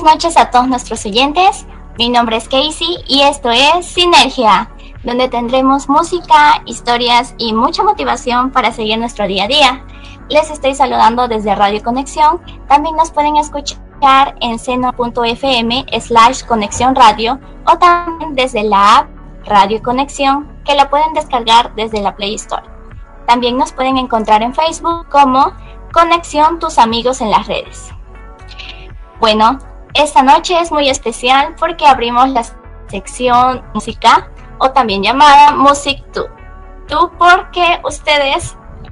noches a todos nuestros oyentes. Mi nombre es Casey y esto es Sinergia, donde tendremos música, historias y mucha motivación para seguir nuestro día a día. Les estoy saludando desde Radio Conexión. También nos pueden escuchar en seno.fm/Conexión Radio o también desde la app Radio Conexión, que la pueden descargar desde la Play Store. También nos pueden encontrar en Facebook como Conexión Tus Amigos en las Redes. Bueno, esta noche es muy especial porque abrimos la sección música o también llamada Music Tú. Tú porque ustedes,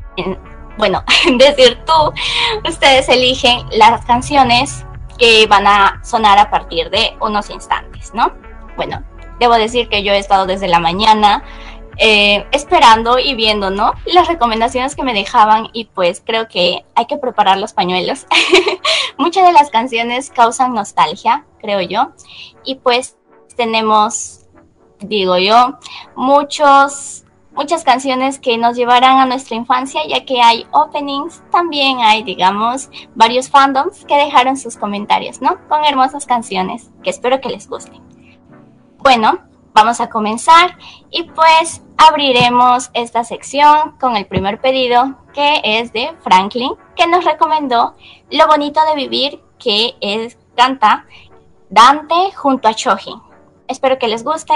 ustedes eligen las canciones que van a sonar a partir de unos instantes, ¿no? Bueno, debo decir que yo he estado desde la mañana esperando y viendo, ¿no?, las recomendaciones que me dejaban, y pues creo que hay que preparar los pañuelos. Muchas de las canciones causan nostalgia, creo yo, y pues tenemos, digo yo, muchas canciones que nos llevarán a nuestra infancia, ya que hay openings, también hay, digamos, varios fandoms que dejaron sus comentarios, ¿no?, con hermosas canciones que espero que les gusten. Bueno, vamos a comenzar y pues abriremos esta sección con el primer pedido, que es de Franklin, que nos recomendó Lo Bonito de Vivir, que canta Dante junto a Shoji. Espero que les guste.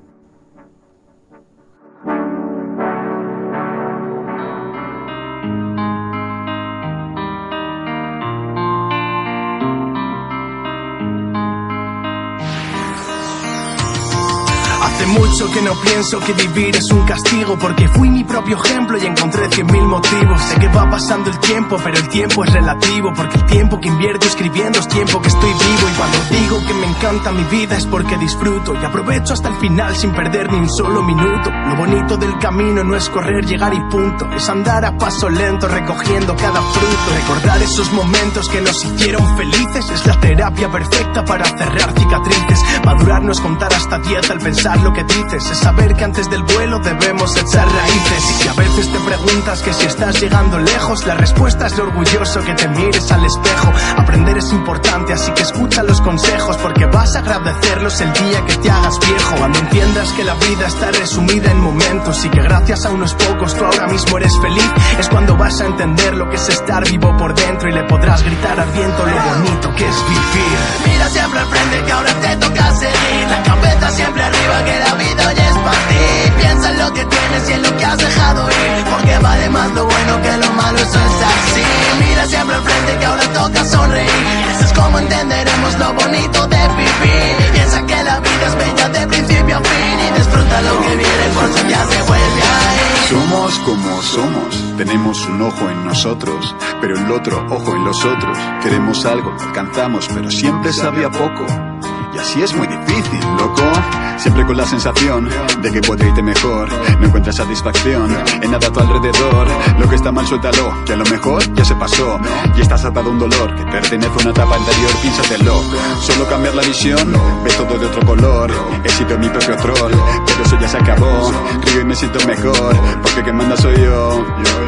Hace mucho que no pienso que vivir es un castigo, porque fui mi propio ejemplo y encontré 100.000 motivos. Sé que va pasando el tiempo, pero el tiempo es relativo, porque el tiempo que invierto escribiendo es tiempo que estoy vivo. Y cuando digo que me encanta mi vida es porque disfruto y aprovecho hasta el final sin perder ni un solo minuto. Lo bonito del camino no es correr, llegar y punto, es andar a paso lento recogiendo cada fruto. Recordar esos momentos que nos hicieron felices es la terapia perfecta para cerrar cicatrices. Madurar no es contar hasta 10 al pensar lo que dices, es saber que antes del vuelo debemos echar raíces. Y si a veces te preguntas que si estás llegando lejos, la respuesta es lo orgulloso que te mires al espejo. Aprender es importante, así que escucha los consejos, porque vas a agradecerlos el día que te hagas viejo. Cuando entiendas que la vida está resumida en momentos y que gracias a unos pocos tú ahora mismo eres feliz, es cuando vas a entender lo que es estar vivo por dentro y le podrás gritar al viento lo bonito que es vivir. Mira siempre al frente que ahora te toca seguir, la cabeza siempre arriba, que la vida hoy es para ti. Piensa en lo que tienes y en lo que has dejado ir, porque vale más lo bueno que lo malo, eso es así. Mira siempre al frente que ahora toca sonreír, eso es como entenderemos lo bonito de vivir. Piensa que la vida es bella de principio a fin y disfruta lo que viene, por si ya se vuelve a ir. Somos como somos, tenemos un ojo en nosotros, pero el otro ojo en los otros. Queremos algo, lo alcanzamos, pero siempre sabía poco. Y así es muy difícil, loco. Siempre con la sensación de que puede irte mejor. No encuentras satisfacción en nada a tu alrededor. Lo que está mal suéltalo, que a lo mejor ya se pasó. Y estás atado a un dolor que pertenece a una etapa anterior, piénsatelo. Solo cambiar la visión, ves todo de otro color. He sido mi propio troll, pero eso ya se acabó. Río y me siento mejor, porque quien manda soy yo.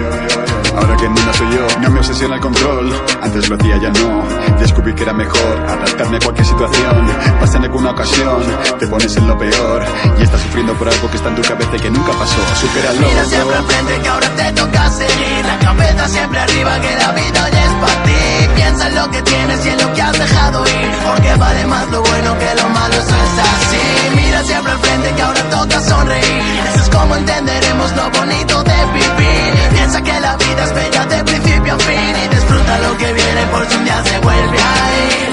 Ahora que manda soy yo, no me obsesiona el control. Antes lo hacía, ya no. Descubrí que era mejor adaptarme a cualquier situación. Pasa en alguna ocasión, te pones en lo peor y estás sufriendo por algo que está en tu cabeza y que nunca pasó. Supéralo. Mira siempre al frente que ahora te toca seguir, la cabeza siempre arriba, que la vida hoy es para ti. Piensa en lo que tienes y en lo que has dejado ir, porque vale más lo bueno que lo malo, eso es así. Mira siempre al frente que ahora toca sonreír, eso es como entenderemos lo bonito de vivir. Piensa que la vida es bella de principio a fin y disfruta lo que viene, por si un día se vuelve a ir.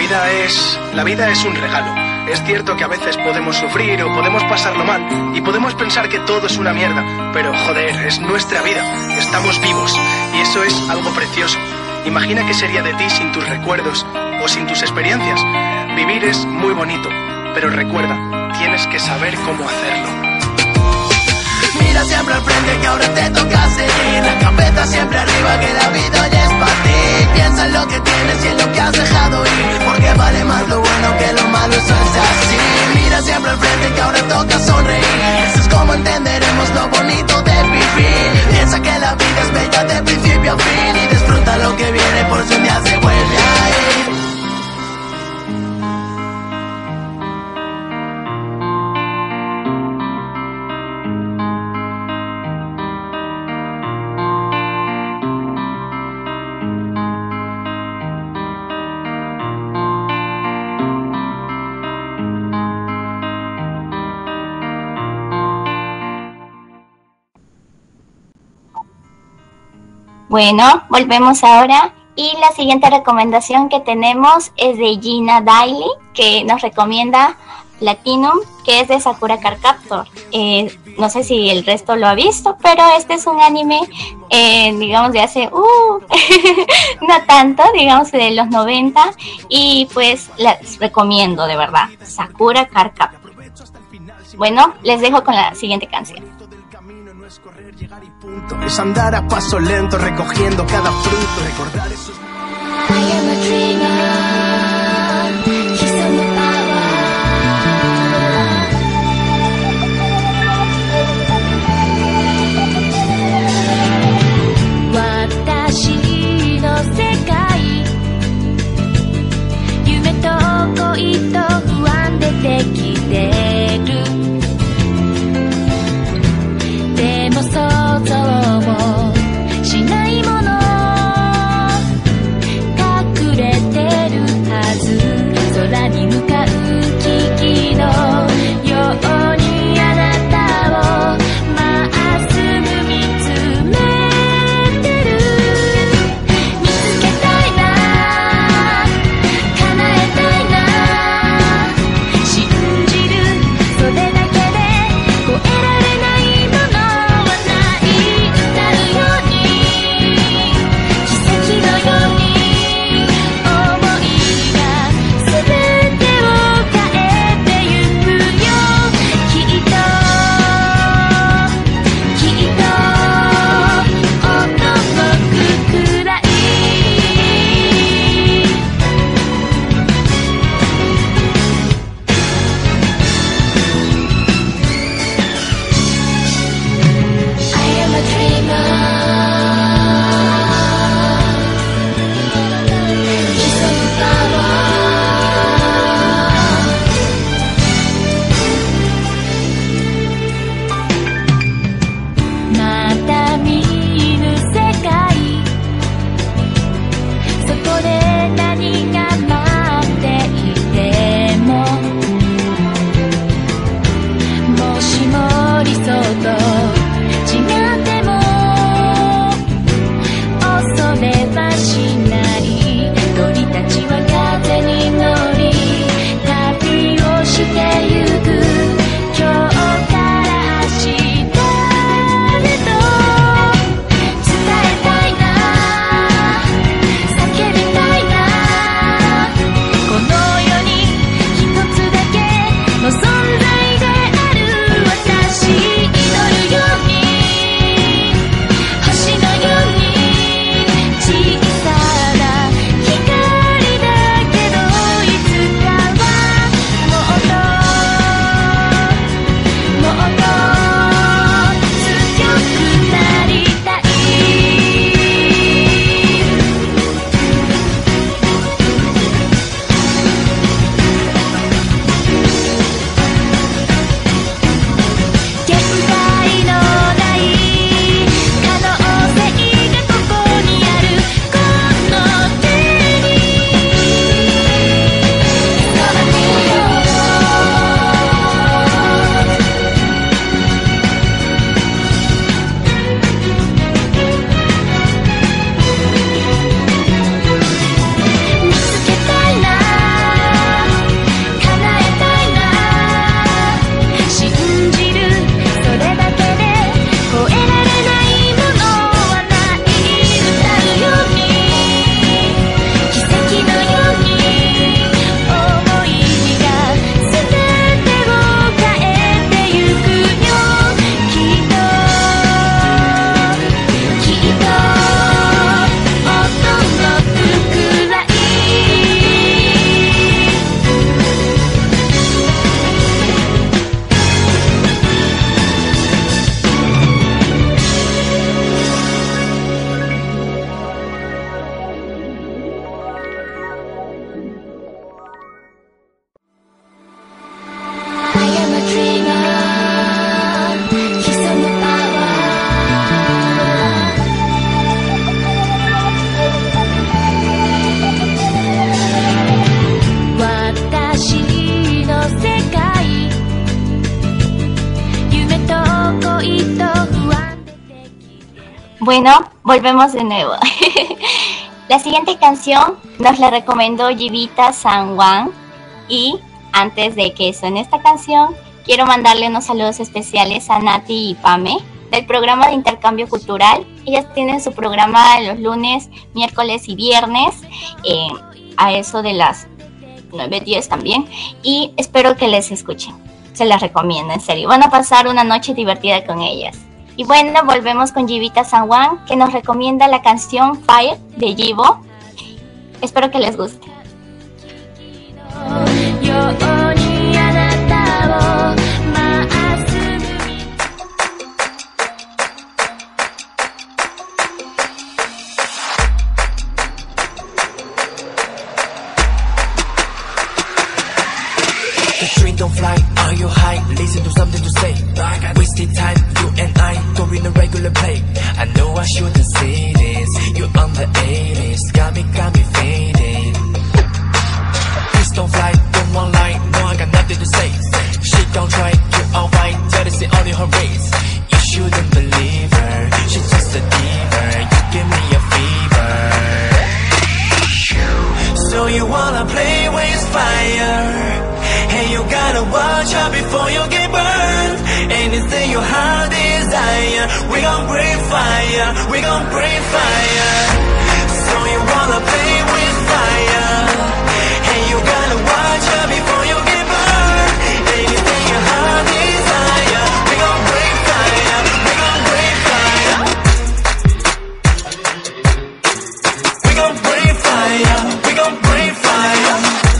La vida es un regalo. Es cierto que a veces podemos sufrir o podemos pasarlo mal y podemos pensar que todo es una mierda, pero joder, es nuestra vida, estamos vivos y eso es algo precioso. Imagina qué sería de ti sin tus recuerdos o sin tus experiencias. Vivir es muy bonito, pero recuerda, tienes que saber cómo hacerlo. Mira siempre al frente que ahora te toca seguir, la cabeza siempre arriba, que la vida hoy es para ti. Piensa en lo que tienes y en lo que has dejado ir, porque vale más lo bueno que lo malo, eso es así. Mira siempre al frente que ahora toca sonreír, eso es como entenderemos lo bonito de vivir. Piensa que la vida es bella de principio a fin y disfruta lo que viene, por si un día se vuelve a ir. Bueno, volvemos ahora. Y la siguiente recomendación que tenemos es de Gina Daly, que nos recomienda Platinum, que es de Sakura Card Captor. No sé si el resto lo ha visto, pero este es un anime, digamos, de hace, no tanto, digamos, de los 90. Y pues les recomiendo, de verdad, Sakura Card Captor. Bueno, les dejo con la siguiente canción. Es correr, llegar y punto. Es andar a paso lento, recogiendo cada fruto. Recordar esos... I am a dreamer. He's on the power. 私の世界、夢と恋と不安でできてる。でも想像もしないもの隠れてるはず。空に向かう危機のようにあなたをまっすぐ見つめてる。見つけたいな、叶えたいな、信じる、それだけで超えられないものはない。歌うように奇跡のように思いが全てを変えてゆくよ。きっと驚くくらい。I am a dreamer. He's on the power. また見ぬ世界、そこで何が待っていても、もしも理想と違っても恐れはしない。鳥たちは風に乗り旅をしてゆく。今日から明日へと伝えたいな、叫びたいな。この世に一つだけの存在である私。祈るように星のように小さな光だけど、いつかはもっと Bueno, volvemos de nuevo. La siguiente canción nos la recomendó Jivita San Juan. Y antes de que suene esta canción, quiero mandarle unos saludos especiales a Nati y Pame del programa de intercambio cultural. Ellas tienen su programa los lunes, miércoles y viernes, a eso de las 9:10 también. Y espero que les escuchen. Se las recomiendo, en serio. Van a pasar una noche divertida con ellas. Y bueno, volvemos con Jivita San Juan, que nos recomienda la canción Fire de Jivo. Espero que les guste. The train don't fly, are you high? Listen to something to say. Wasting time, you and I don't in a regular play. I know I shouldn't say this. You on the 80s, got me fading. Please don't fly, don't want lie. No, I got nothing to say. She don't try, you're alright. Tell us it only her race. You shouldn't believe her. She's just a diva. You give me a fever. So you wanna play with fire? Hey, you gotta watch out before you get burned. Anything your heart desire, we gon' breathe fire, we gon' breathe fire. So you wanna play with fire? Hey, you gotta watch out before you get burned. Anything your heart desire, we gon' breathe fire, we gon' breathe fire. We gon' breathe fire, we gon' breathe fire.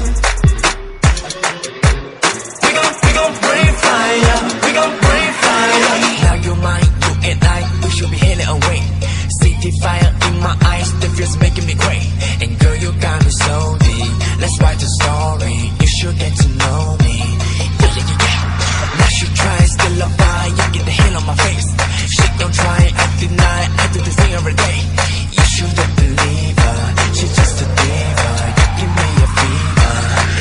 Fire in my eyes, the feels making me great. And girl, you got me so deep. Let's write the story. You should get to know me. Yeah, yeah, yeah, yeah. Now she try, still a fire. Get the hell on my face. She don't try, I deny. I do this thing every day. You shouldn't believe her. She's just a diva. You give me a fever.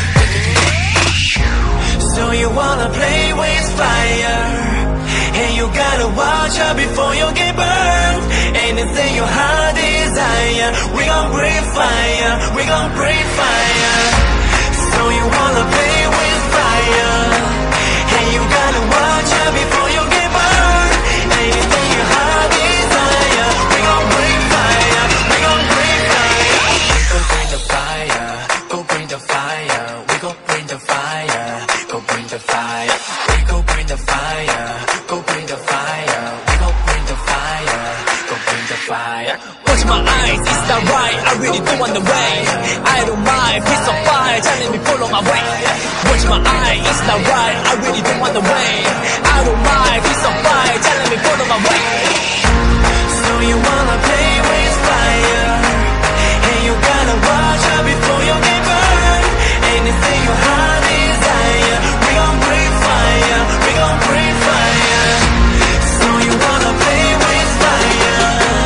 So you wanna play with fire? Hey, you gotta watch out before you get burned. Anything your heart desire, we gon' breathe fire, we gon' breathe fire. So you wanna play with fire? Hey, you gotta watch out before you get burned. Anything your heart desire, we gon' breathe fire, we gon' breathe fire. Go bring the fire, go bring the fire, we gon' bring the fire, go bring the fire, we go bring the fire, go bring the fire, we gon' bring the fire. Fire. Watch my eyes, is that right? I really do want the way. I don't mind, piece of fire, telling me follow my way. Watch my eyes, is that right? I really do want the way. I don't mind, piece of fire, telling me follow my way. So you wanna play with fire? Hey, you gotta watch out before you get burned. Anything your heart desire, we gon' breathe fire, we gon' breathe fire. So you wanna play with fire?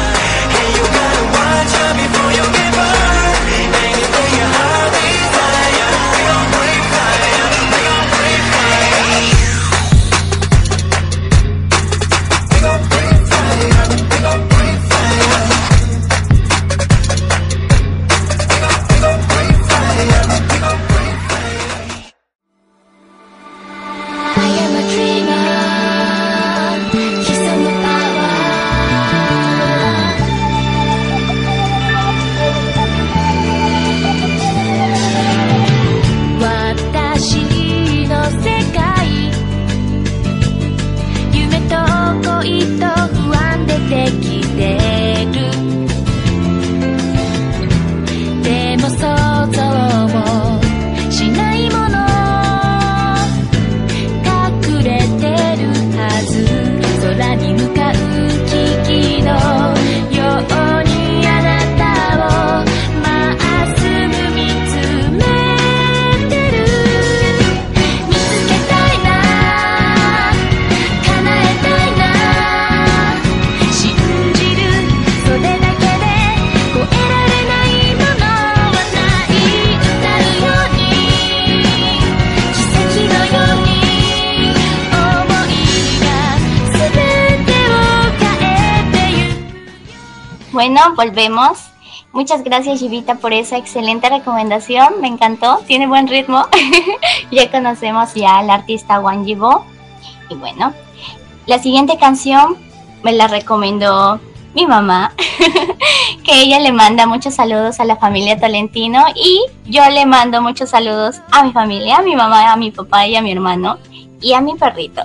Before you get burned, anything your heart desire, we gon' breathe fire, we gon' breathe fire. bueno, volvemos. Muchas gracias, Yivita, por esa excelente recomendación. Me encantó, tiene buen ritmo. Ya conocemos ya al artista Wang Yibo. Y bueno, la siguiente canción me la recomendó mi mamá, que ella le manda muchos saludos a la familia Tolentino y yo le mando muchos saludos a mi familia, a mi mamá, a mi papá y a mi hermano y a mi perrito.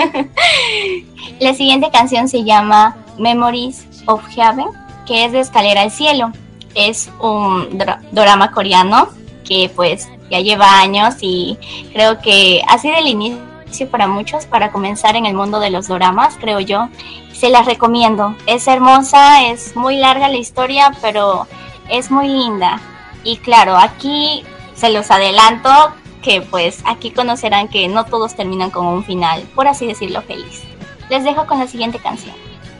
La siguiente canción se llama Memories of Heaven, que es de Escalera al Cielo. Es un drama coreano que pues ya lleva años y creo que ha sido el inicio para muchos para comenzar en el mundo de los doramas, creo yo. Se las recomiendo, es hermosa, es muy larga la historia, pero es muy linda. Y claro, aquí se los adelanto que pues aquí conocerán que no todos terminan con un final, por así decirlo, feliz. Les dejo con la siguiente canción.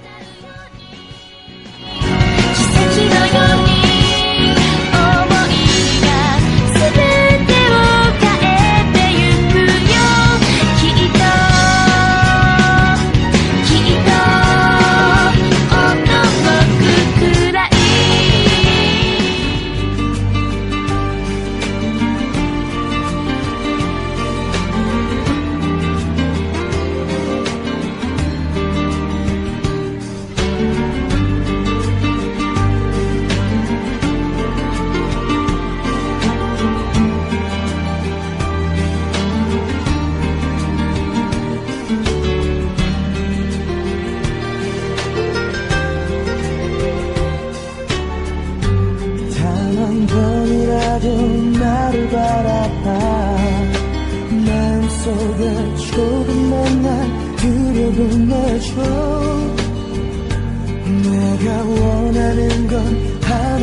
내가 원하는 건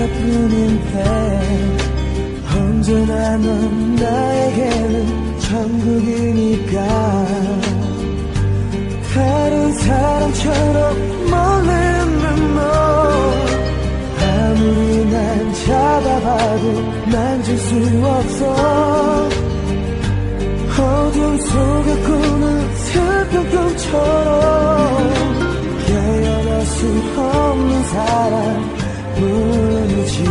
하나뿐인데 언제나 넌 나에게는 천국이니까 다른 사람처럼 몰리는 너 아무리 난 잡아봐도 만질 수 없어 어둠 속에 꾸는 슬픈 꿈처럼 깨어날 수 없는 사랑뿐이지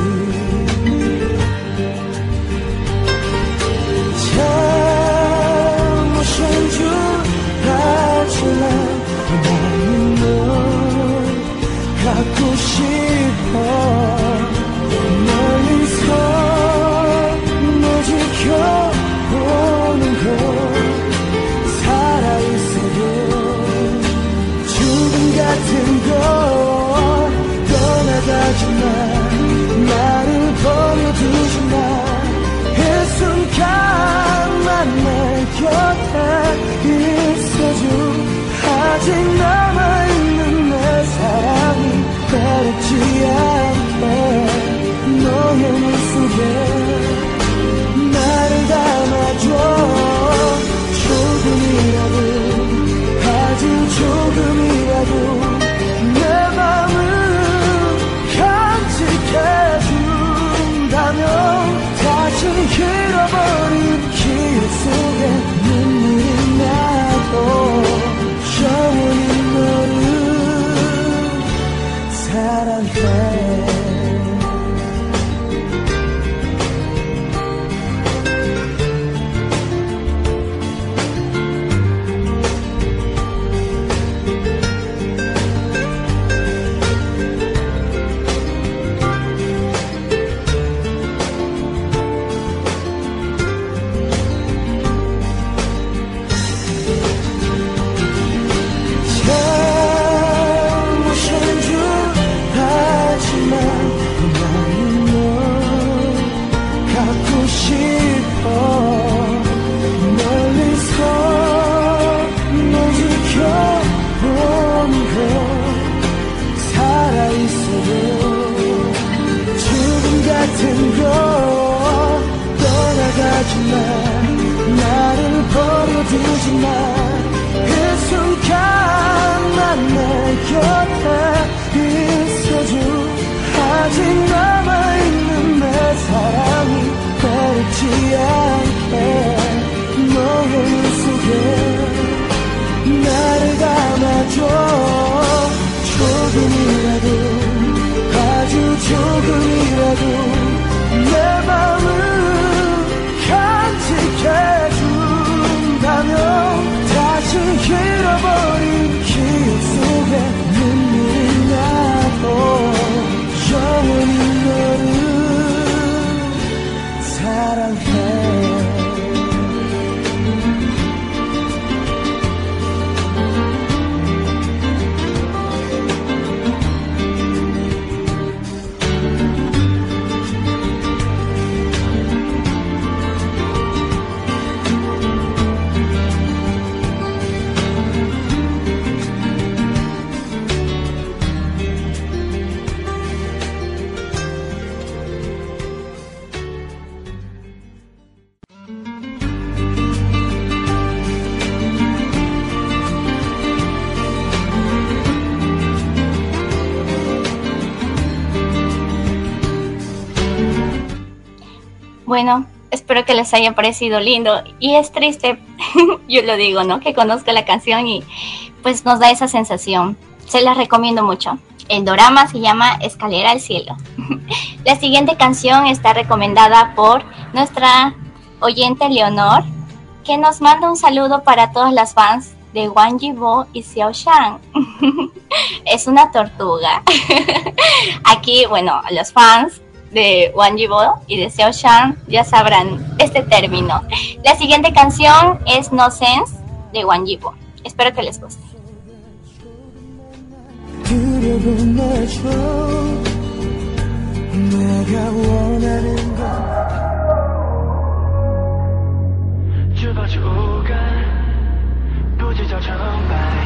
잘못인 줄 알지만 나는 널 갖고 싶어 멀리서 너 지켜보는 걸 살아있어도 같은 걸 떠나가지마 나를 버려두지마 이 순간만 내 곁에 있어줘 아직 남아있는 내 사랑이 외롭지 않게 너의 눈 속에 나를 담아줘 조금이라도 아주 조금이라도 내 맘을 간직해준다면 다시 잃어버린 기억 속에 눈물이 나도 영원히 너를 사랑해 나를 버려두지마 그 순간만 내 곁에 있어줘 아직 남아있는 내 사랑이 외롭지 않게 너의 눈 속에 나를 담아줘 조금이라도 Bueno, espero que les haya parecido lindo. Y es triste, yo lo digo, ¿no? Que conozca la canción y pues nos da esa sensación. Se la recomiendo mucho. El dorama se llama Escalera al Cielo. La siguiente canción está recomendada por nuestra oyente Leonor, que nos manda un saludo para todas las fans de Wang Yibo y Xiao Shan. Es una tortuga. Aquí, bueno, los fans de Wang Yibo y de Xiao Shan ya sabrán este término. La siguiente canción es No Sense de Wang Yibo. Espero que les guste. 두려운 나죠 내가 원하는 건 就保持无感，不计较成败。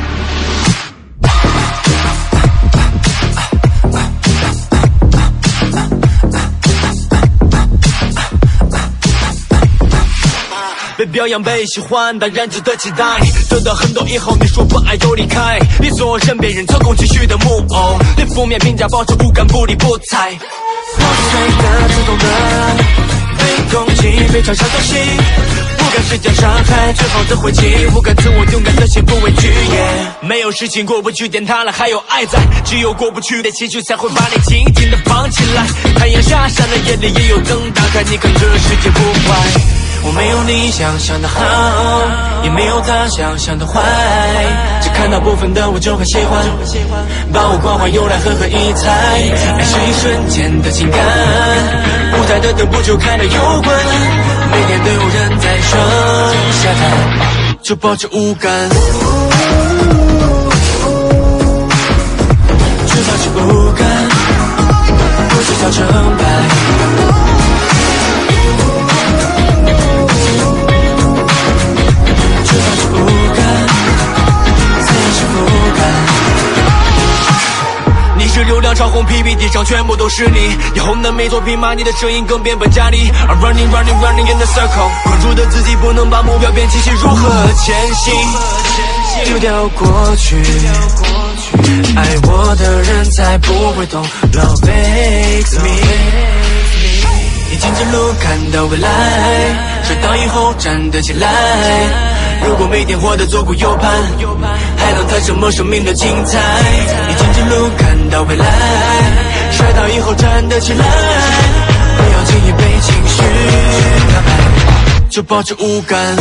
被表扬被喜欢，当然值得期待。得到很多以后，你说不爱就离开，别做任别人操控情绪的木偶，对负面评价保持无感，不理不睬。破碎的、刺痛的，被攻击，被嘲笑东西，不敢施加伤害，最后的回击，不敢自我勇敢的心，不畏惧。没有事情过不去，点塌了还有爱在，只有过不去的情绪才会把你紧紧的绑起来。太阳下山了，夜里也有灯打开，你看这世界不坏。 我没有你想象的好，也没有他想象的坏，只看到部分的我就很喜欢，把我关怀用来狠狠一踩。爱是一瞬间的情感，舞台的灯不就开了又关，每天都有人在上下台，就保持无感，只保持无感，不计较成败。 是流量超红 PPT 上全部都是你，以后的每作品骂你的声音更变本加厉。I'm running running running in the circle， 关注的自己不能把目标变清晰，如何前行？丢掉过去，爱我的人才不会懂 ，Love makes me。你听着路，看到未来，摔倒以后站得起来。 如果每天活得左顾右盼，还能谈什么生命的精彩？你听着路，看到未来，摔倒以后站得起来，不要轻易被情绪打败，就保持无感，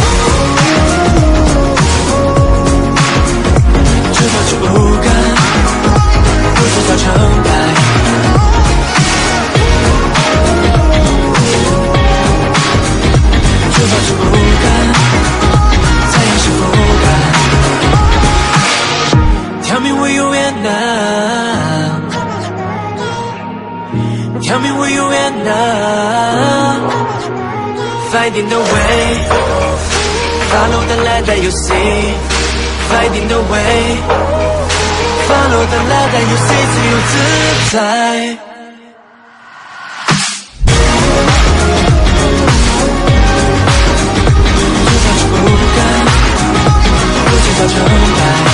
只保持无感，不计较成败。 就保持无感。 Tell me where you at now. Tell me where you at now. Finding the way. Follow the light that you see. Finding the way. Follow the light that you see. 自由自在。 不计较成败。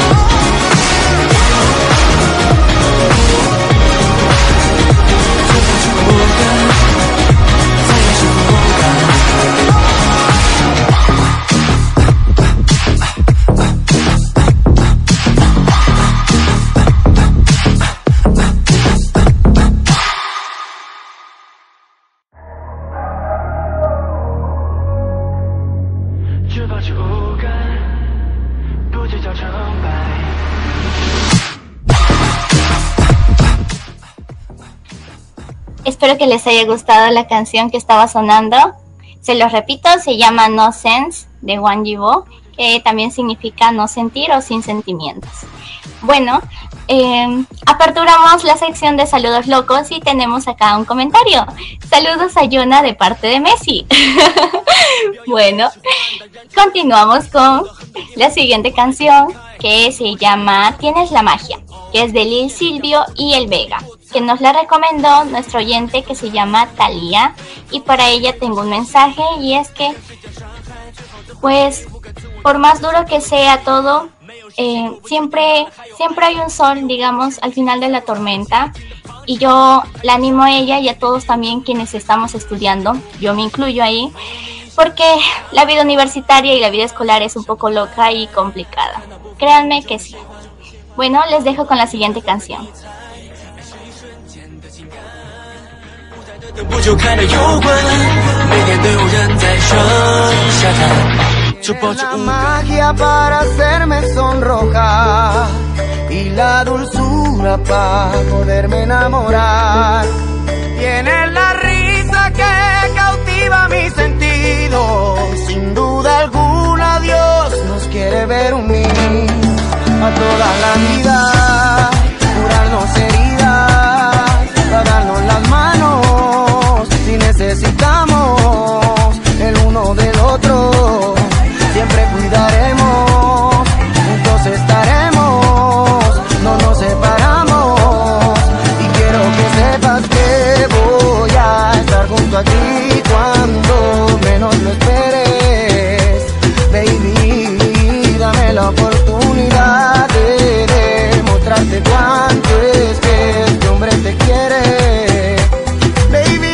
Espero que les haya gustado la canción que estaba sonando. Se los repito, se llama No Sense de Wang Yibo, que también significa no sentir o sin sentimientos. Bueno, aperturamos la sección de saludos locos y tenemos acá un comentario. Saludos a Yuna de parte de Messi. Bueno, continuamos con la siguiente canción, que se llama Tienes la magia, que es de Lil Silvio y El Vega, que nos la recomendó nuestro oyente que se llama Thalía, y para ella tengo un mensaje, y es que pues por más duro que sea todo, siempre hay un sol, digamos, al final de la tormenta, y yo la animo a ella y a todos también quienes estamos estudiando, yo me incluyo ahí, porque la vida universitaria y la vida escolar es un poco loca y complicada. Créanme que sí. Bueno, les dejo con la siguiente canción. 不就开了油管，每天都有人在剩下它，就抱着 La magia para hacerme sonrojar y la dulzura para poderme enamorar. Tiene la risa que cautiva mis sentidos. Sin duda alguna Dios nos quiere ver unir a toda la vida, curarnos heridas, darnos las manos si necesitamos el uno del otro. Siempre cuidaremos, juntos estaremos, no nos separamos. Y quiero que sepas que voy a estar junto a ti cuando menos lo esperes. Baby, dame la oportunidad de demostrarte cuánto es que este hombre te quiere. Baby,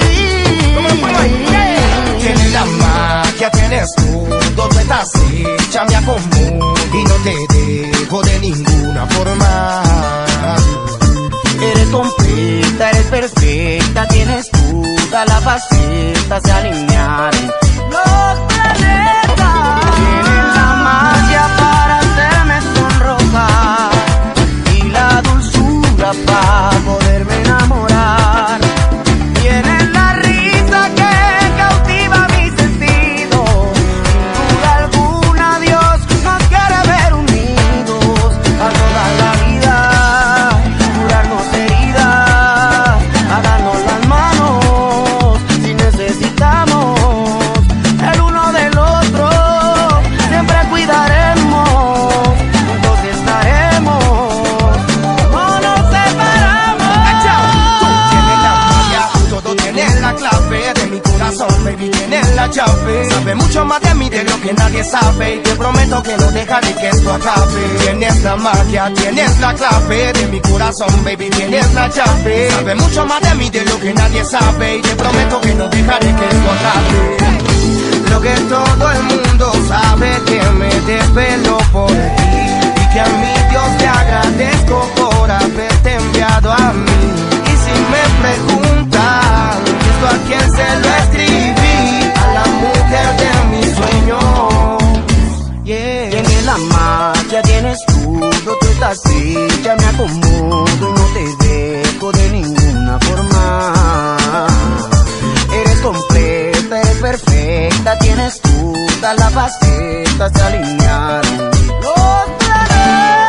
tienes la magia, tienes todo, tú estás hecha, me acomodo y no te dejo de ninguna forma. Eres completa, eres perfecta, tienes toda la faceta, se alinearon los planetas. Tienes la magia para hacerme sonrojar y la dulzura para poderme enamorar. Tienes la risa que cautiva mis sentidos. Sin duda alguna Dios nos quiere ver unidos a toda la vida, curarnos heridas, a darnos las manos si necesitamos el uno del otro. Siempre cuidaremos, juntos estaremos, no nos separamos. Tú tienes la magia, todo tienes la clave de mi corazón, baby, tienes la llave. Sabe mucho más de mí de lo que nadie sabe y te prometo que no dejaré que esto acabe. Tienes la magia, tienes la clave de mi corazón, baby, tienes la llave. Sabe mucho más de mí de lo que nadie sabe y te prometo que no dejaré que esto acabe. Lo que todo el mundo sabe, que me desvelo por ti y que a mi Dios le agradezco por haberte enviado a mí. Y si me preguntan esto a quién se lo escribí, a la mujer de mis sueños. Yeah. Tienes la magia, tienes todo, tú estás hecha, me acomodo y no te dejo de ninguna forma. Eres completa, eres perfecta, tienes toda la faceta, se alinearon los planetas.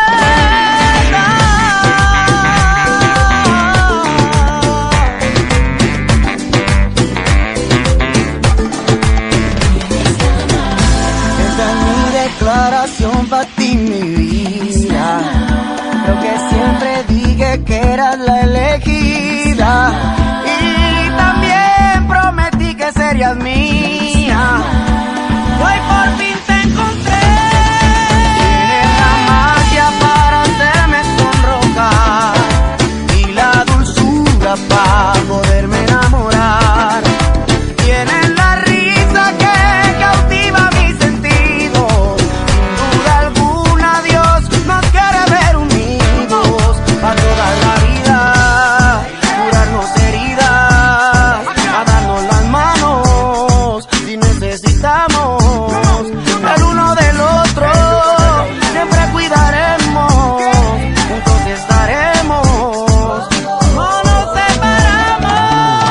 Esta es mi declaración para ti, mi vida. Lo que siempre dije que eras la elegida. Y también prometí que serías mía. Hoy por fin te encontré. Tienes la magia para hacerme sonrojar y la dulzura para poderme enamorar. Tienes la risa que cautiva mis sentidos. Sin duda alguna Dios nos quiere ver unidos a toda la vida, curarnos heridas, a darnos las manos si necesitamos el uno del otro. Siempre cuidaremos, juntos estaremos, no nos separamos.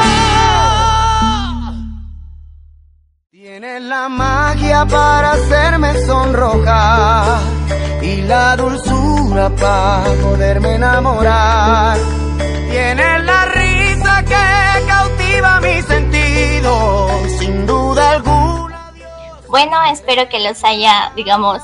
Tienes la magia para hacerme sonrojar y la dulzura para poderme enamorar. Tienes la risa que cautiva mis sentidos. Sin duda alguna. Bueno, espero que los haya, digamos,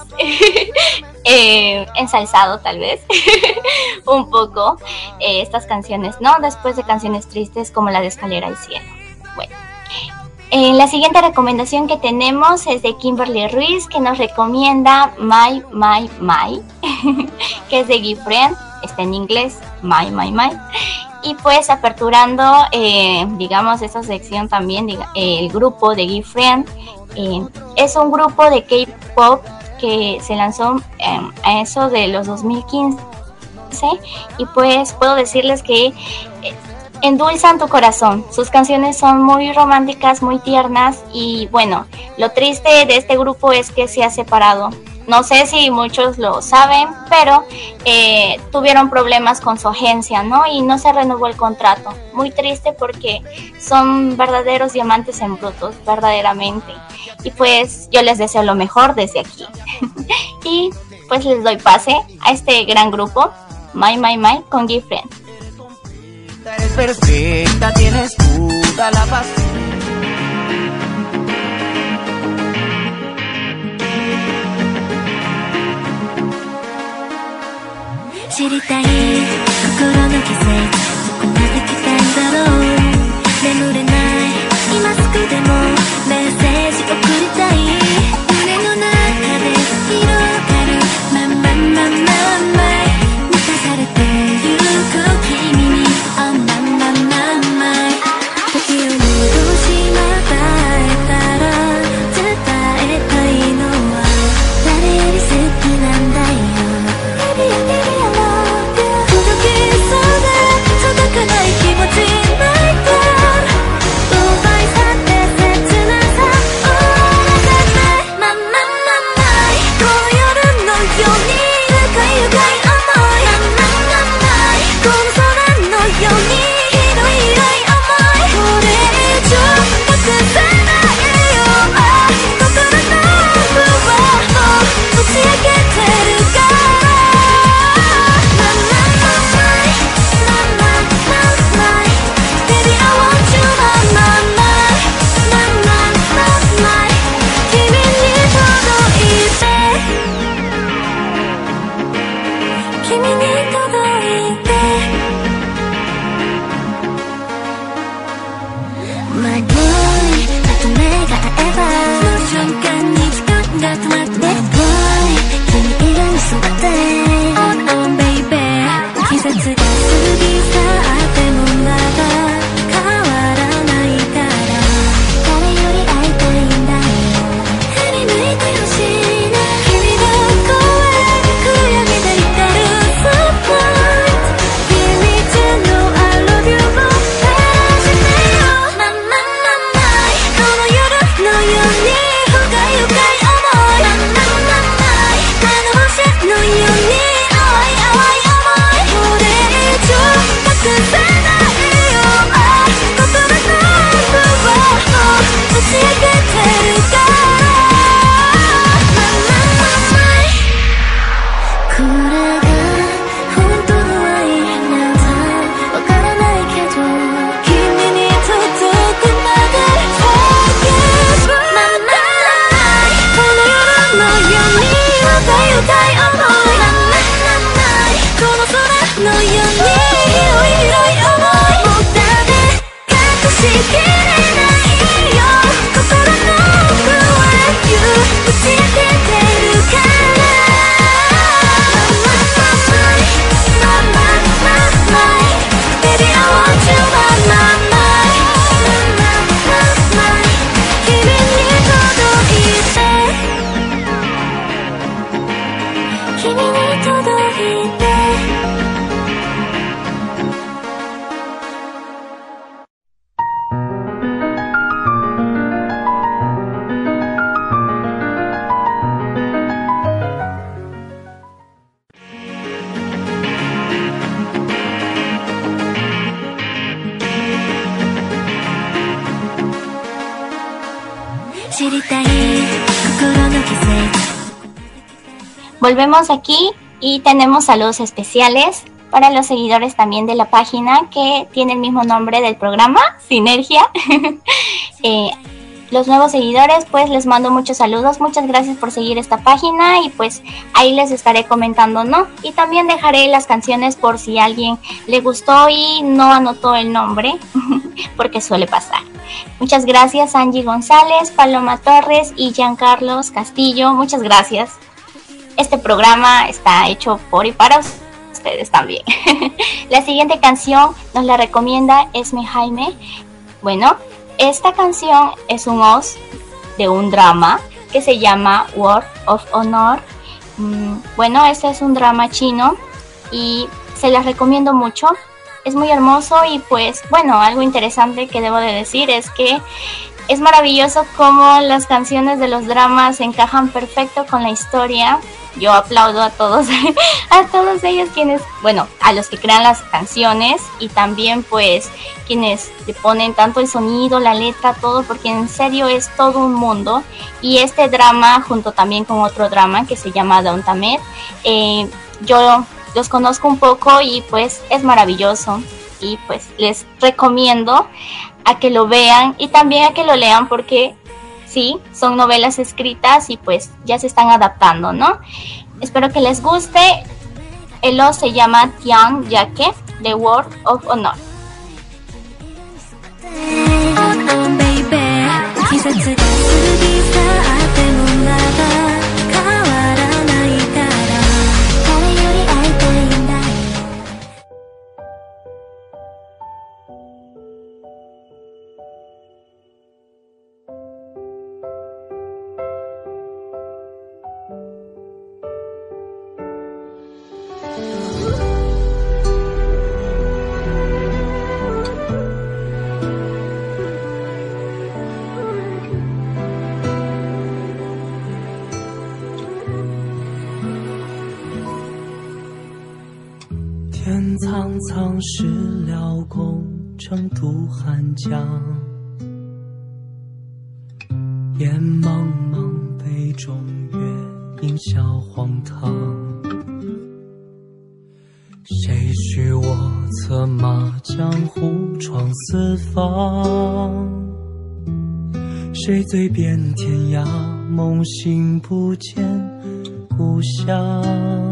ensalzado tal vez un poco estas canciones, ¿no? Después de canciones tristes como la de Escalera al Cielo. Bueno, la siguiente recomendación que tenemos es de Kimberly Ruiz, que nos recomienda My, que es de Gifren, está en inglés, My. y pues aperturando, digamos, esta sección también, el grupo de GIFRIEND. Es un grupo de K-pop que se lanzó a eso de los 2015, y pues puedo decirles que endulzan tu corazón. Sus canciones son muy románticas, muy tiernas, y bueno, lo triste de este grupo es que se ha separado. No sé si muchos lo saben, pero tuvieron problemas con su agencia, ¿no? Y no se renovó el contrato. Muy triste porque son verdaderos diamantes en brutos, verdaderamente. Y pues yo les deseo lo mejor desde aquí. Y pues les doy pase a este gran grupo, My con GIFRIEND. Eres perfecta, tienes toda la paz. 知りたい心の傷、どこまで来たんだろう。眠れない今すぐでもメッセージ送りたい。胸の中で広がるまんまんまんまんまい、満たされてゆく君に、あんまんまんまんまい。時を戻しまたえたら伝えたいのは誰より好きなんだよ。届かない気持ち泣いて奪い去って切なさ終わらせて、まんまんまんまい。この夜のように愉快愉快思い、まんまんまんまい。この空のように広い広い思い。これ以上隠せないよ、心の不安を打ち明けてるから。 Volvemos aquí y tenemos saludos especiales para los seguidores también de la página que tiene el mismo nombre del programa, Sinergia. Los nuevos seguidores, pues les mando muchos saludos, muchas gracias por seguir esta página y pues ahí les estaré comentando, ¿no? Y también dejaré las canciones por si a alguien le gustó y no anotó el nombre, porque suele pasar. Muchas gracias Angie González, Paloma Torres y Giancarlos Castillo, muchas gracias. Este programa está hecho por y para ustedes también. La siguiente canción nos la recomienda Esme Jaime. Bueno, esta canción es un OST de un drama que se llama Word of Honor. Bueno, este es un drama chino y se las recomiendo mucho. Es muy hermoso y pues bueno, algo interesante que debo de decir es que es maravilloso cómo las canciones de los dramas encajan perfecto con la historia. Yo aplaudo a todos, a todos ellos quienes, bueno, a los que crean las canciones y también pues quienes le ponen tanto el sonido, la letra, todo, porque en serio es todo un mundo. Y este drama, junto también con otro drama que se llama Downtamed, yo los conozco un poco y pues es maravilloso. Y pues les recomiendo a que lo vean y también a que lo lean porque sí, son novelas escritas y pues ya se están adaptando, ¿no? Espero que les guste. El O se llama Tian Yake, The Word of Honor. 天苍苍，事了空，成渡汉江。烟茫茫，杯中月，饮笑荒唐。谁许我策马江湖闯四方？谁醉遍天涯，梦醒不见故乡。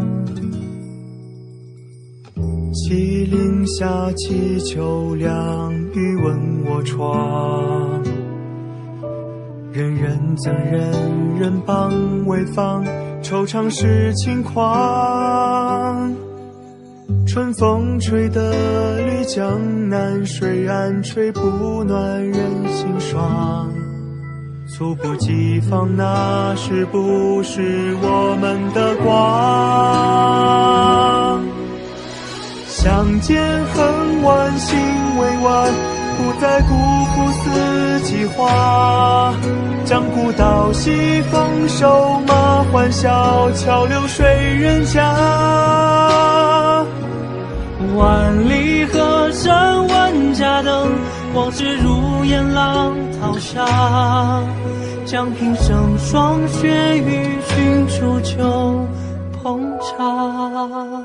麒麟下，祈秋凉，欲问我窗。人人憎人，人帮为坊，惆怅是轻狂。春风吹得绿江南，水岸吹不暖人心爽。猝不及防，那是不是我们的光？相见恨晚，心未晚，不再辜负四季花。将古道西，风瘦马欢笑，桥流水人家。 万里河山万家灯，往事如烟浪淘沙。将平生霜雪与君煮酒烹茶。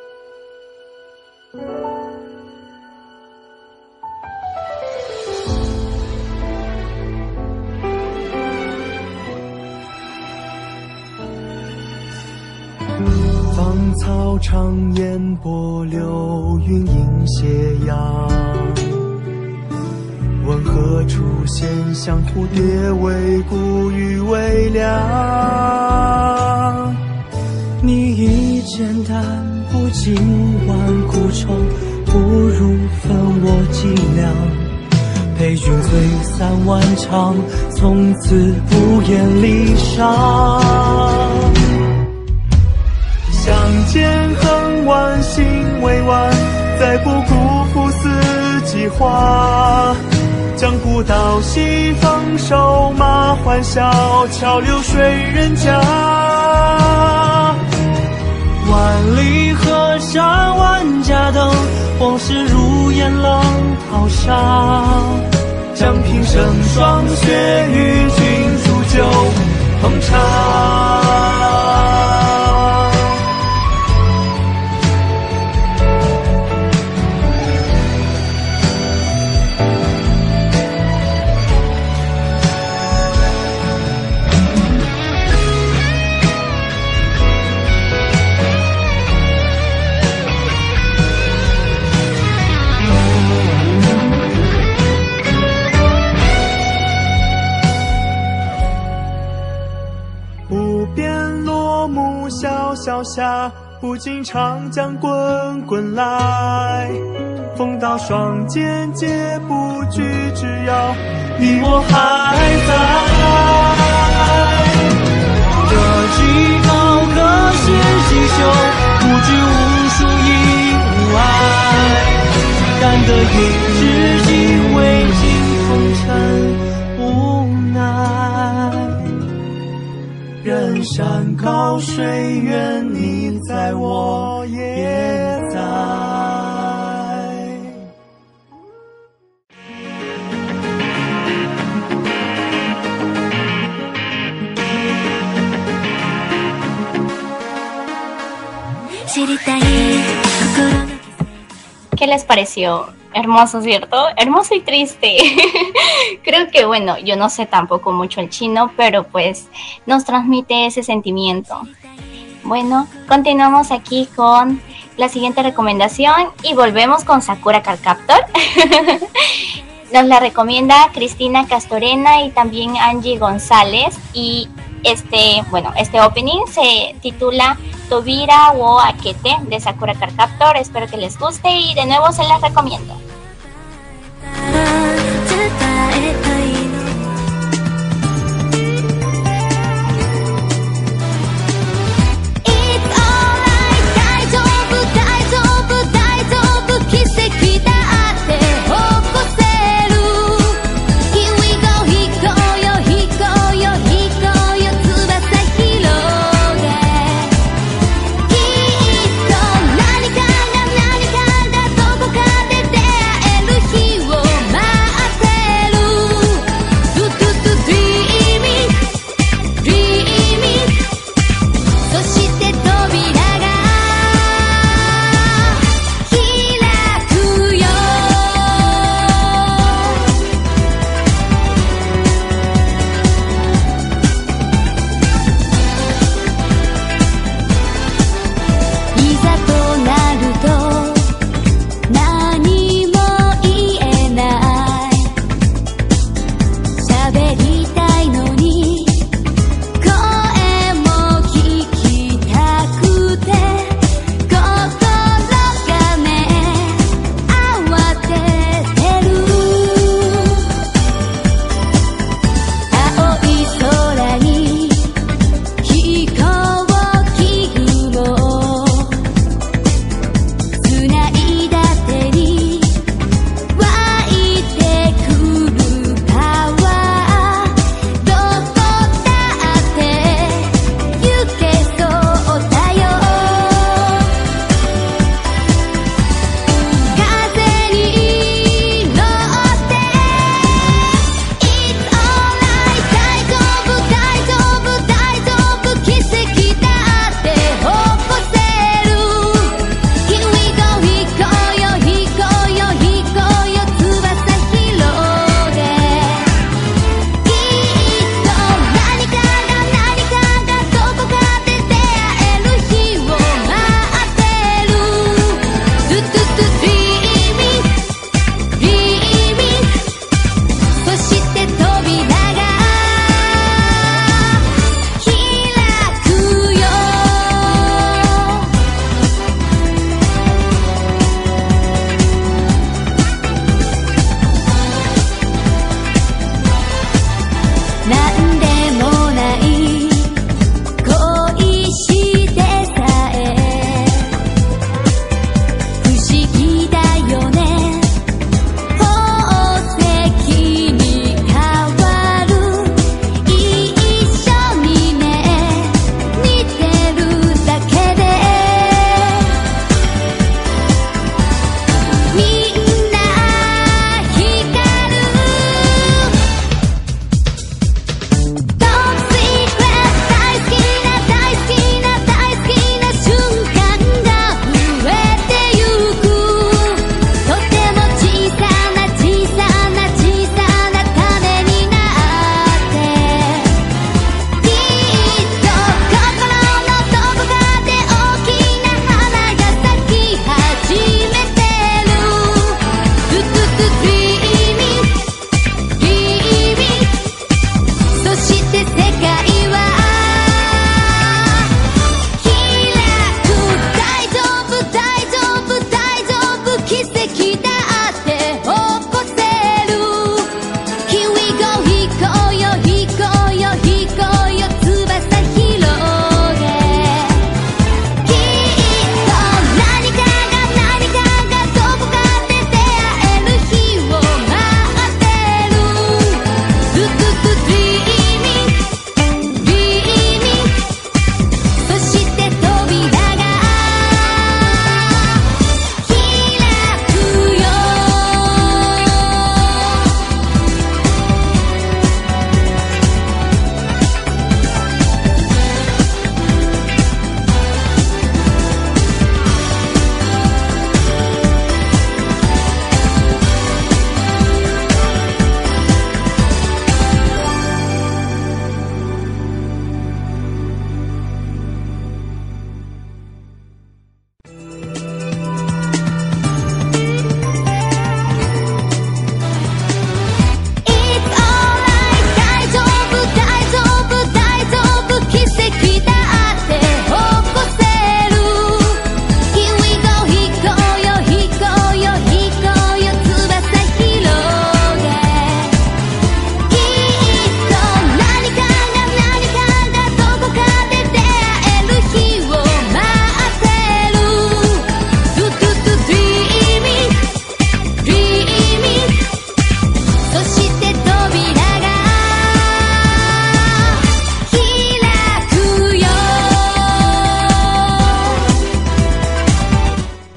芳草长烟波，流云映斜阳。问何处闲向蝴蝶为孤与为凉？ 你已简单，不尽万古愁，不如分我几两。陪君醉三万场，从此不言离殇。 相见恨晚，心未晚，再不辜负四季花。将古道西，风瘦马欢笑，桥流水人家。 万里河山万家灯，往事如烟浪淘沙。 将平生霜雪与君煮酒烹茶。小夏不经长江滚滚来，风到双肩皆不惧，只要你我还在。这极高和弦细绣，不惧无数意外，难得一知己，未尽风尘无奈。人山高水远，你在我也在。 ¿Qué les pareció? Hermoso, ¿cierto? Hermoso y triste. Creo que, bueno, yo no sé tampoco mucho el chino, pero pues nos transmite ese sentimiento. Bueno, continuamos aquí con la siguiente recomendación y volvemos con Sakura Card Captor. Nos la recomienda Cristina Castorena y también Angie González. Y este opening se titula Tobira wo Akete de Sakura Card Captor. Espero que les guste y de nuevo se las recomiendo. There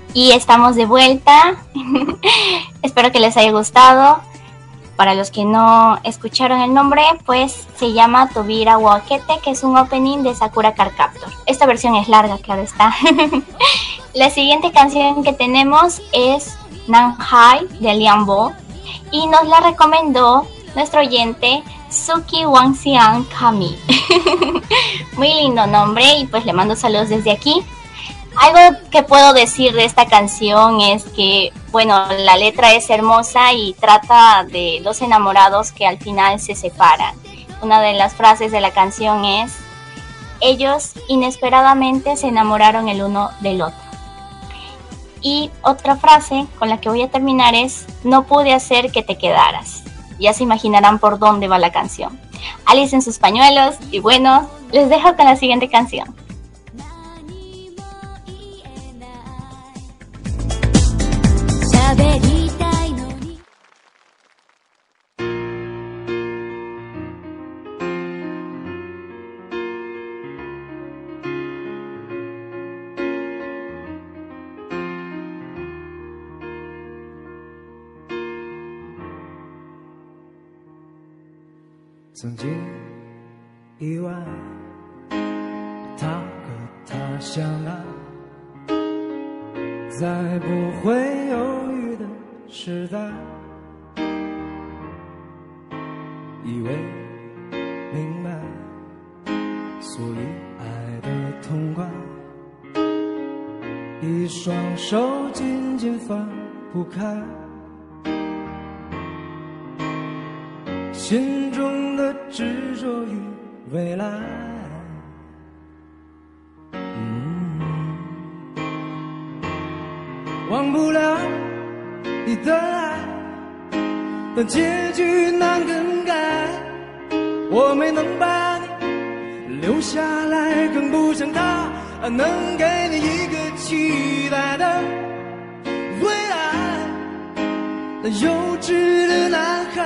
Y estamos de vuelta. Espero que les haya gustado. Para los que no escucharon el nombre, pues se llama Tobira Wakete, que es un opening de Sakura Card Captor. Esta versión es larga, claro está. La siguiente canción que tenemos es Nanhai de Lian Bo y nos la recomendó nuestro oyente Suki Wangxian Kami. Muy lindo nombre y pues le mando saludos desde aquí. Algo que puedo decir de esta canción es que, bueno, la letra es hermosa y trata de dos enamorados que al final se separan. Una de las frases de la canción es: ellos inesperadamente se enamoraron el uno del otro. Y otra frase con la que voy a terminar es: no pude hacer que te quedaras. Ya se imaginarán por dónde va la canción. Alicen sus pañuelos y bueno, les dejo con la siguiente canción. 喋りたいのに曾经意外他和她相爱，在不会犹豫的时代，以为明白，所以爱的痛快，一双手紧紧放不开，心中的执着与未来。忘不了你的爱，但结局难更改。我没能把你留下来，更不像他能给你一个期待的未来。那幼稚的男孩，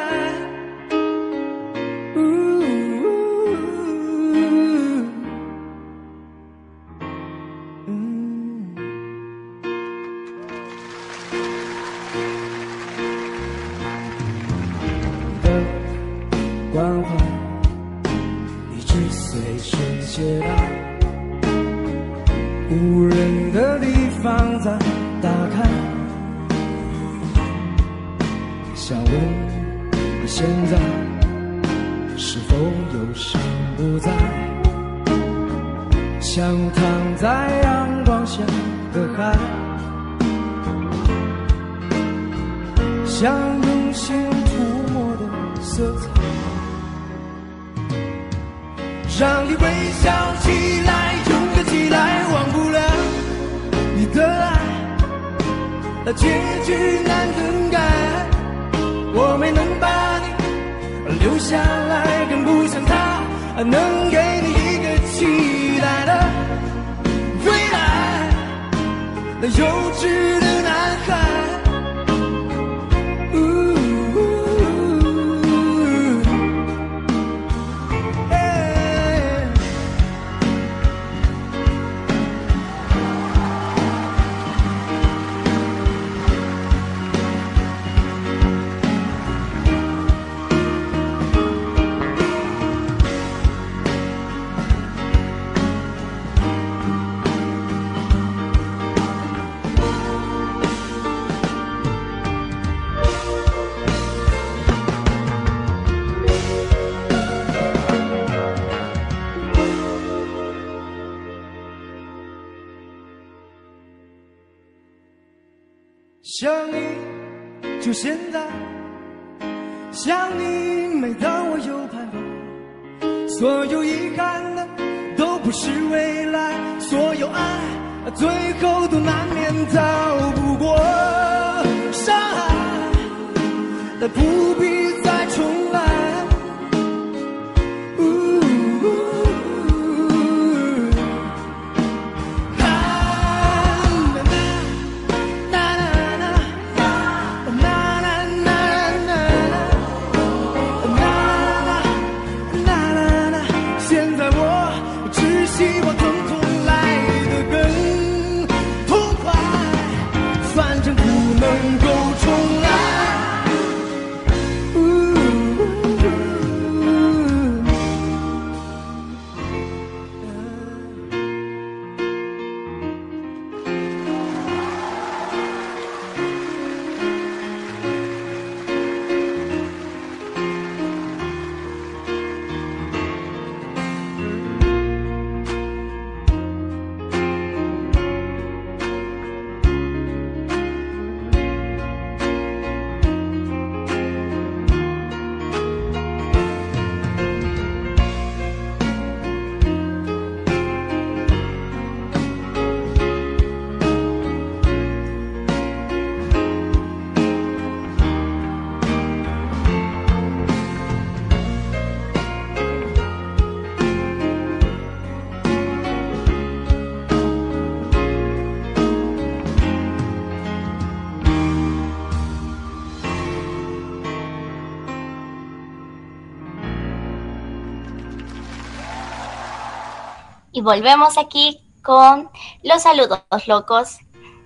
关怀一直随身携带，无人的地方再打开，想问你现在是否有心不在，像躺在阳光下的海，像用心涂抹的色彩，让你微笑起来，勇敢起来，忘不了你的爱，那结局难更改。我没能把你留下来，更不像他能给你一个期待的未来。那幼稚的男孩。想你就现在，想你每当我有盼望，所有遗憾的都不是未来，所有爱最后都难免逃不过伤害，但不必再重来。 Y volvemos aquí con los saludos locos.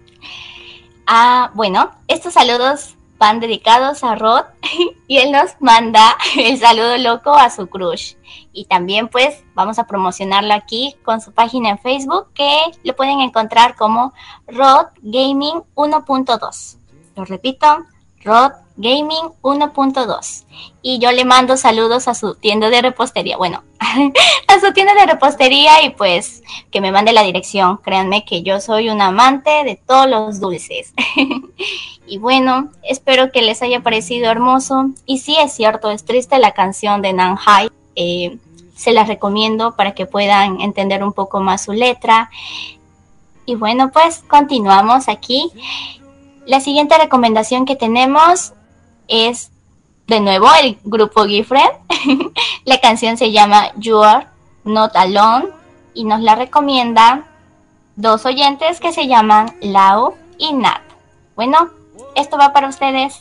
Bueno, estos saludos van dedicados a Rod y él nos manda el saludo loco a su crush. Y también pues vamos a promocionarlo aquí con su página en Facebook, que lo pueden encontrar como Rod Gaming 1.2. Lo repito, Rod Gaming 1.2. Y yo le mando saludos a su tienda de repostería. Bueno, a su tienda de repostería, y pues que me mande la dirección. Créanme que yo soy una amante de todos los dulces. Y bueno, espero que les haya parecido hermoso. Y sí, es cierto, es triste la canción de Nanhai. Se las recomiendo para que puedan entender un poco más su letra. Y bueno, pues continuamos aquí. La siguiente recomendación que tenemos es de nuevo el grupo GIFRIEND. La canción se llama You Are Not Alone y nos la recomiendan dos oyentes que se llaman Lau y Nat. Bueno, esto va para ustedes.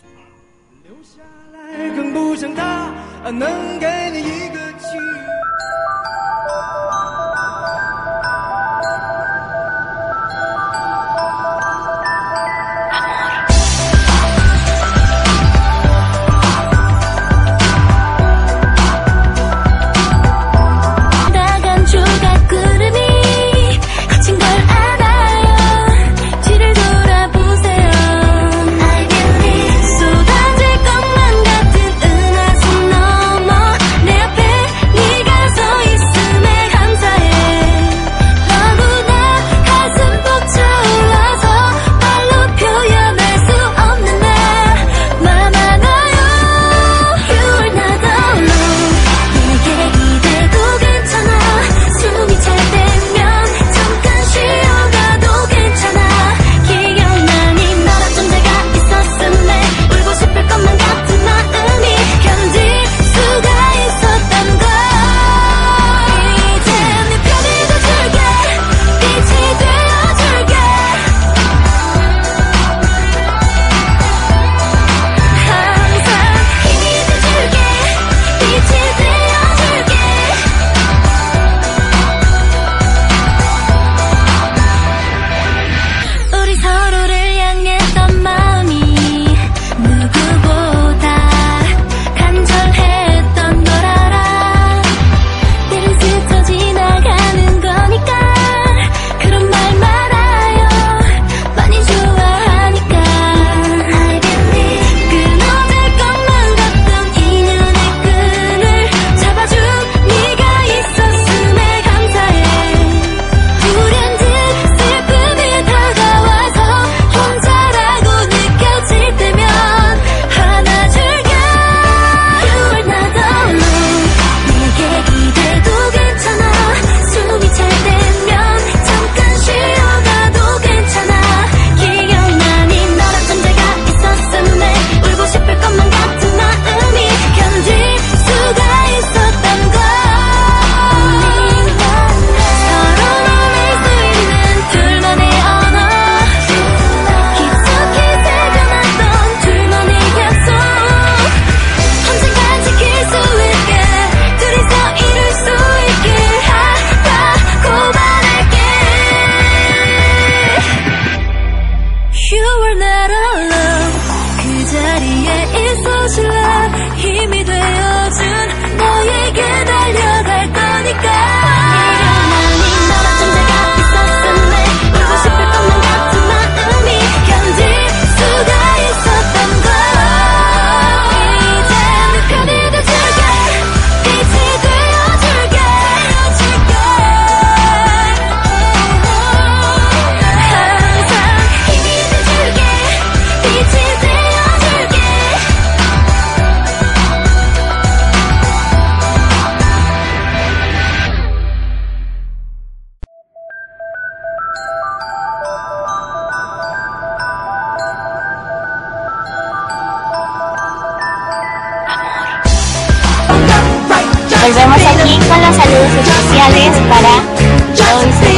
Volvemos aquí con los saludos especiales para Joyce,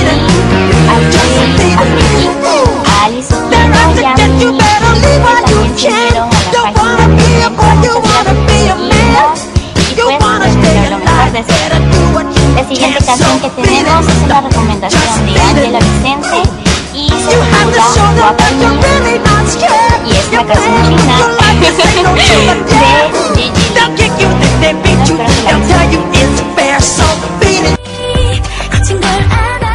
a Jay, a Vicky, a Alice, y a Mimi, que también se unieron a la página de y pues lo mejor de ser. La siguiente canción que tenemos es una banda Guapa Mí y esta canción china de Gigi Lee. Espero que la 거친 걸 알아요.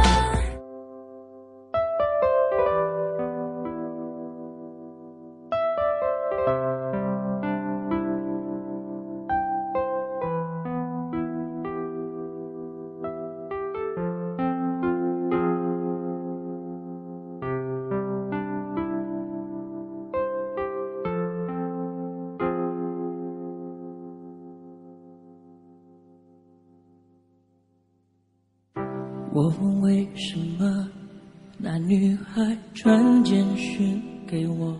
我问为什么那女孩传简讯给我，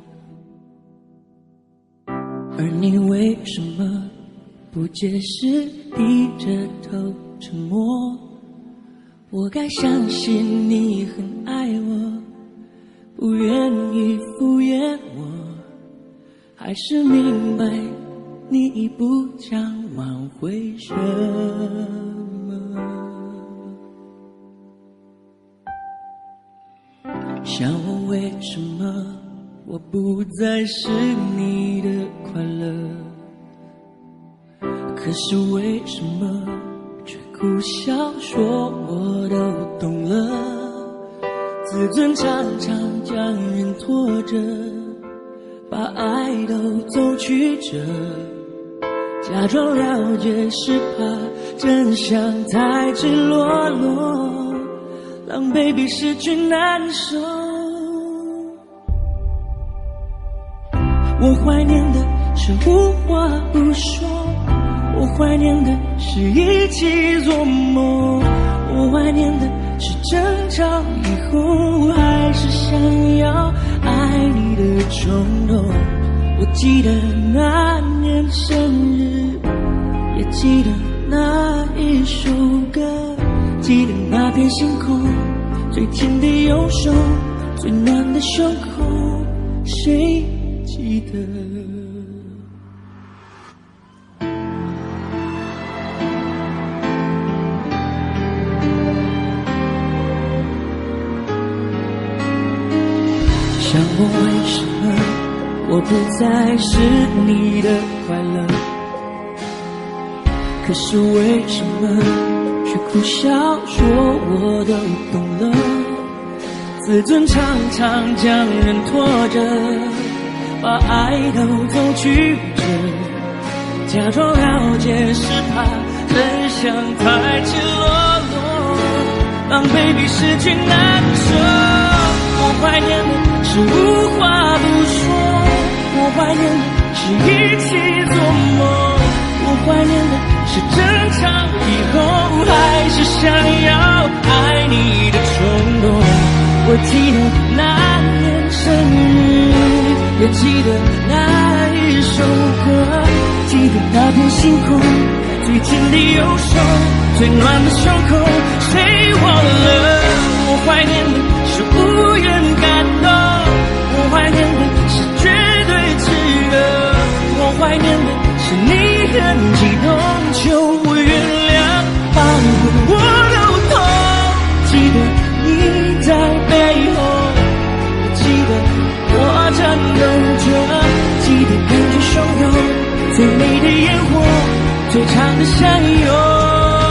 而你为什么不解释，低着头沉默？我该相信你很爱我，不愿意敷衍我，还是明白你已不想挽回什么？想问为什么我不再是你的快乐，可是为什么却苦笑说我都懂了？自尊常常将人拖着，把爱都走曲折，假装了解是怕真相太赤裸裸，让 baby 失去难受。我怀念的是无话不说，我怀念的是一起做梦，我怀念的是争吵以后还是想要爱你的冲动。我记得那年生日，也记得那一首歌，记得那片星空，最紧的右手，最暖的胸口，谁记得？想问为什么我不再是你的快乐，可是为什么却苦笑说我都懂了？自尊常常将人拖着，把爱都走曲折，假装了解是怕真相太赤裸裸，让 baby 失去难受。我怀念的是无话不说，我怀念的是一起做梦，我怀念的是争吵以后还是想要爱你的冲动。我记得那年生日，也记得那一首歌，记得那片星空，最紧的右手，最暖的胸口，谁忘了？我怀念的是无言感动，我怀念的是绝对炽热，我怀念的是你很激动，求我原谅，把我都痛。记得你在背后，记得我颤抖着，记得感觉汹涌，最美的烟火，最长的相拥。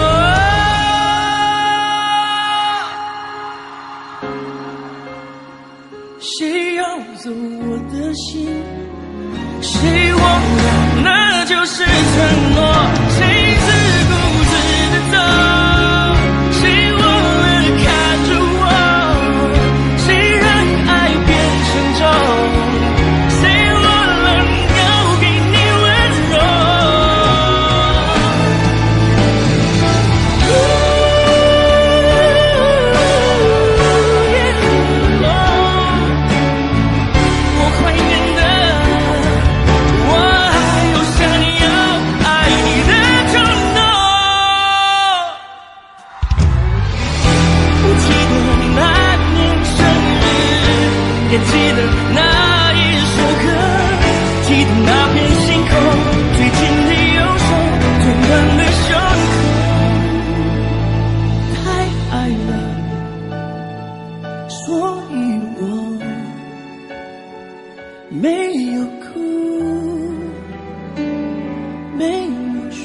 谁要走我的心？谁忘了那就是承诺？谁自顾自的走？谁忘了看着我？谁让爱变成舟？谁忘了要给你温柔？我怀念的，我还有想要爱你的冲动。我记得那年生日，也记得那一首歌，记得那片星空，最紧的右手，最暖的胸口。太爱了，所以我没有哭，没有说。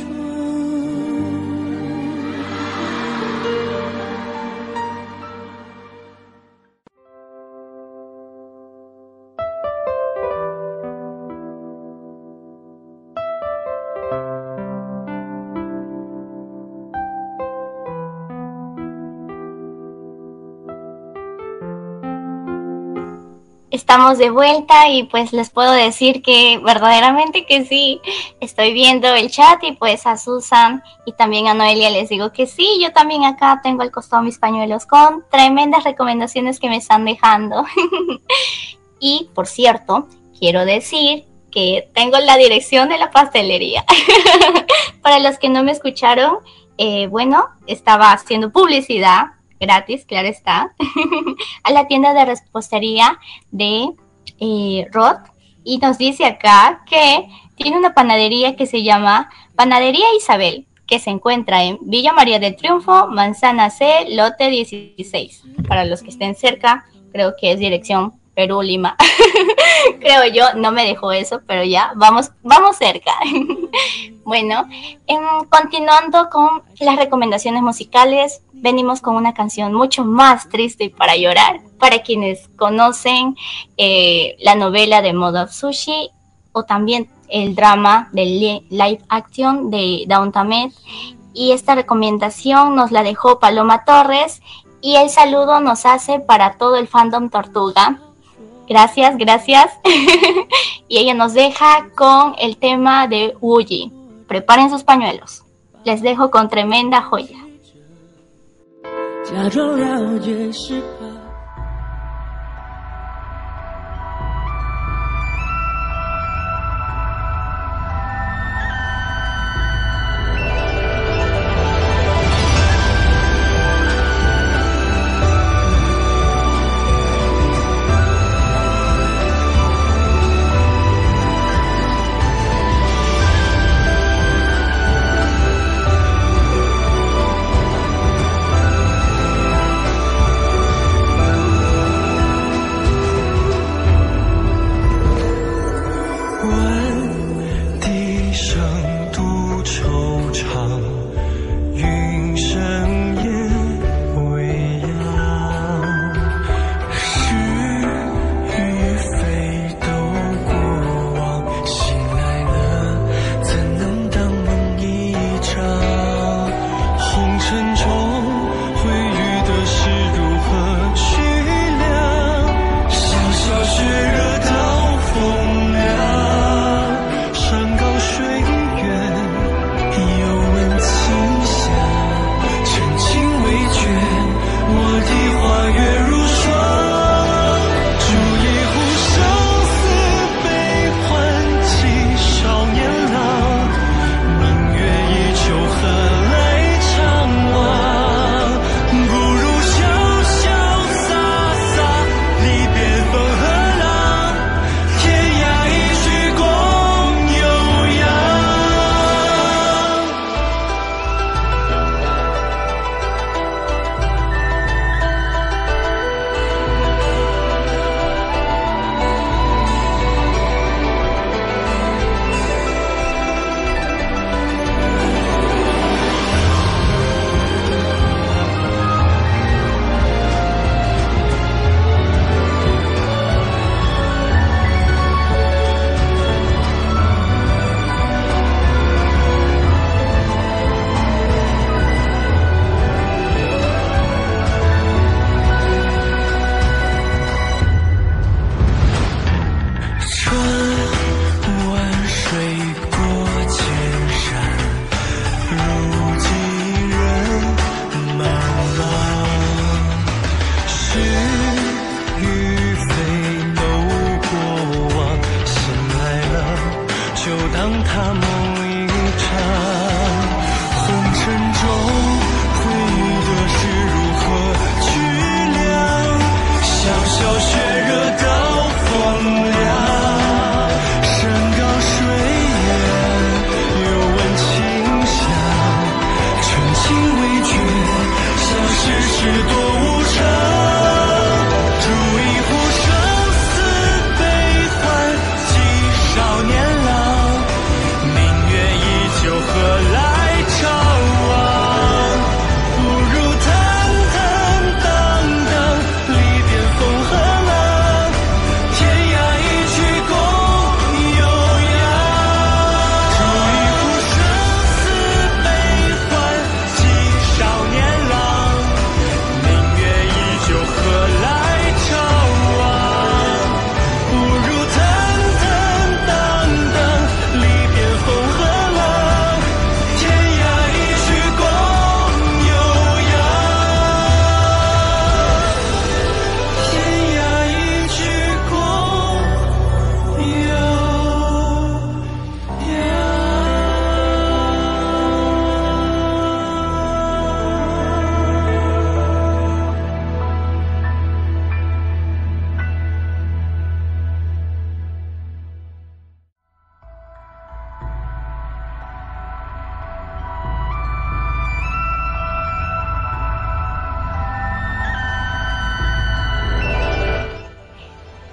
Estamos de vuelta y pues les puedo decir que verdaderamente que sí, estoy viendo el chat y pues a Susan y también a Noelia les digo que sí, yo también acá tengo al costado mis pañuelos con tremendas recomendaciones que me están dejando. Y por cierto, quiero decir que tengo la dirección de la pastelería. Para los que no me escucharon, bueno, estaba haciendo publicidad gratis, claro está, a la tienda de repostería de Rod, y nos dice acá que tiene una panadería que se llama Panadería Isabel, que se encuentra en Villa María del Triunfo, Manzana C, lote 16. Para los que estén cerca, creo que es dirección Perú, Lima. Creo yo, no me dejó eso, pero ya, vamos cerca. Bueno, continuando con las recomendaciones musicales, venimos con una canción mucho más triste y para llorar. Para quienes conocen la novela de Mob Sushi o también el drama de live action de Downton Abbey. Y esta recomendación nos la dejó Paloma Torres y el saludo nos hace para todo el fandom Tortuga. Gracias. Y ella nos deja con el tema de Wuyi. Preparen sus pañuelos. Les dejo con tremenda joya. 假装了解是怕。 「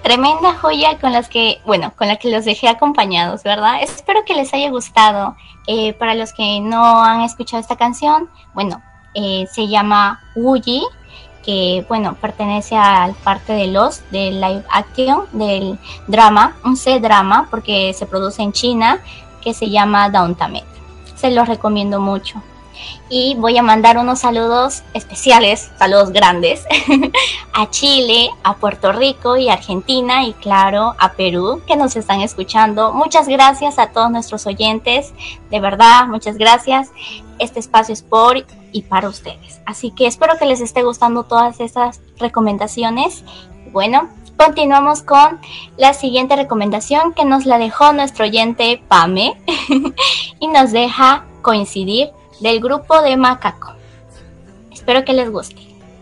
tremenda joya con las que, bueno, con la que los dejé acompañados, ¿verdad? Espero que les haya gustado. Para los que no han escuchado esta canción, bueno, se llama Wuyi, que, bueno, pertenece al parte de del live action, del drama, un C-drama, porque se produce en China, que se llama Downtamed. Se los recomiendo mucho. Y voy a mandar unos saludos especiales, saludos grandes, a Chile, a Puerto Rico y Argentina y claro, a Perú, que nos están escuchando. Muchas gracias a todos nuestros oyentes, de verdad, muchas gracias. Este espacio es por y para ustedes. Así que espero que les esté gustando todas estas recomendaciones. Bueno, continuamos con la siguiente recomendación que nos la dejó nuestro oyente Pame y nos deja Coincidir del grupo de Macaco. Espero que les guste.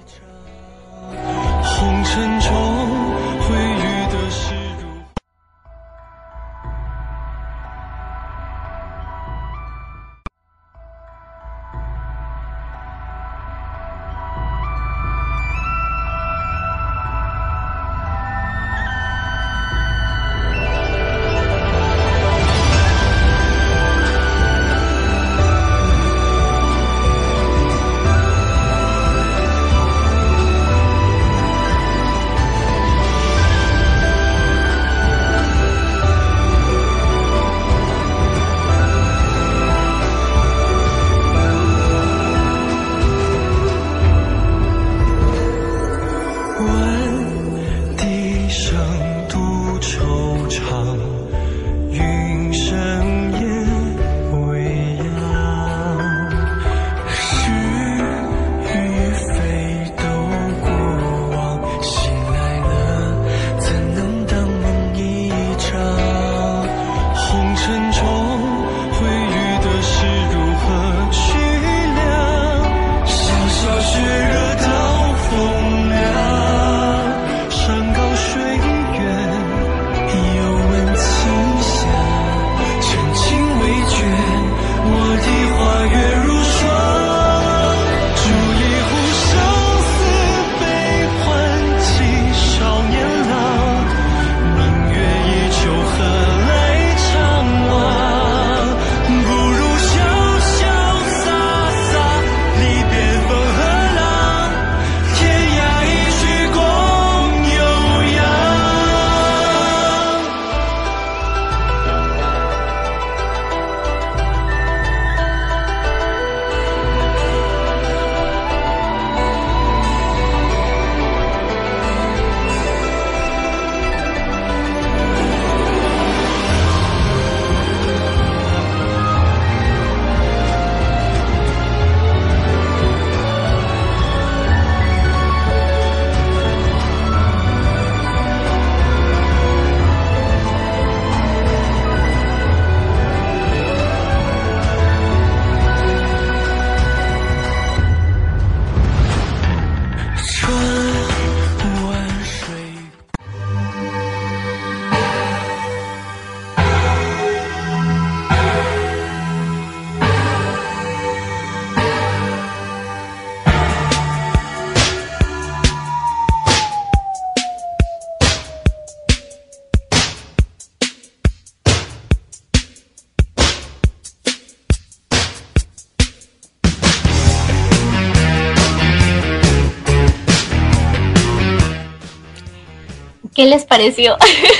¿Qué les pareció?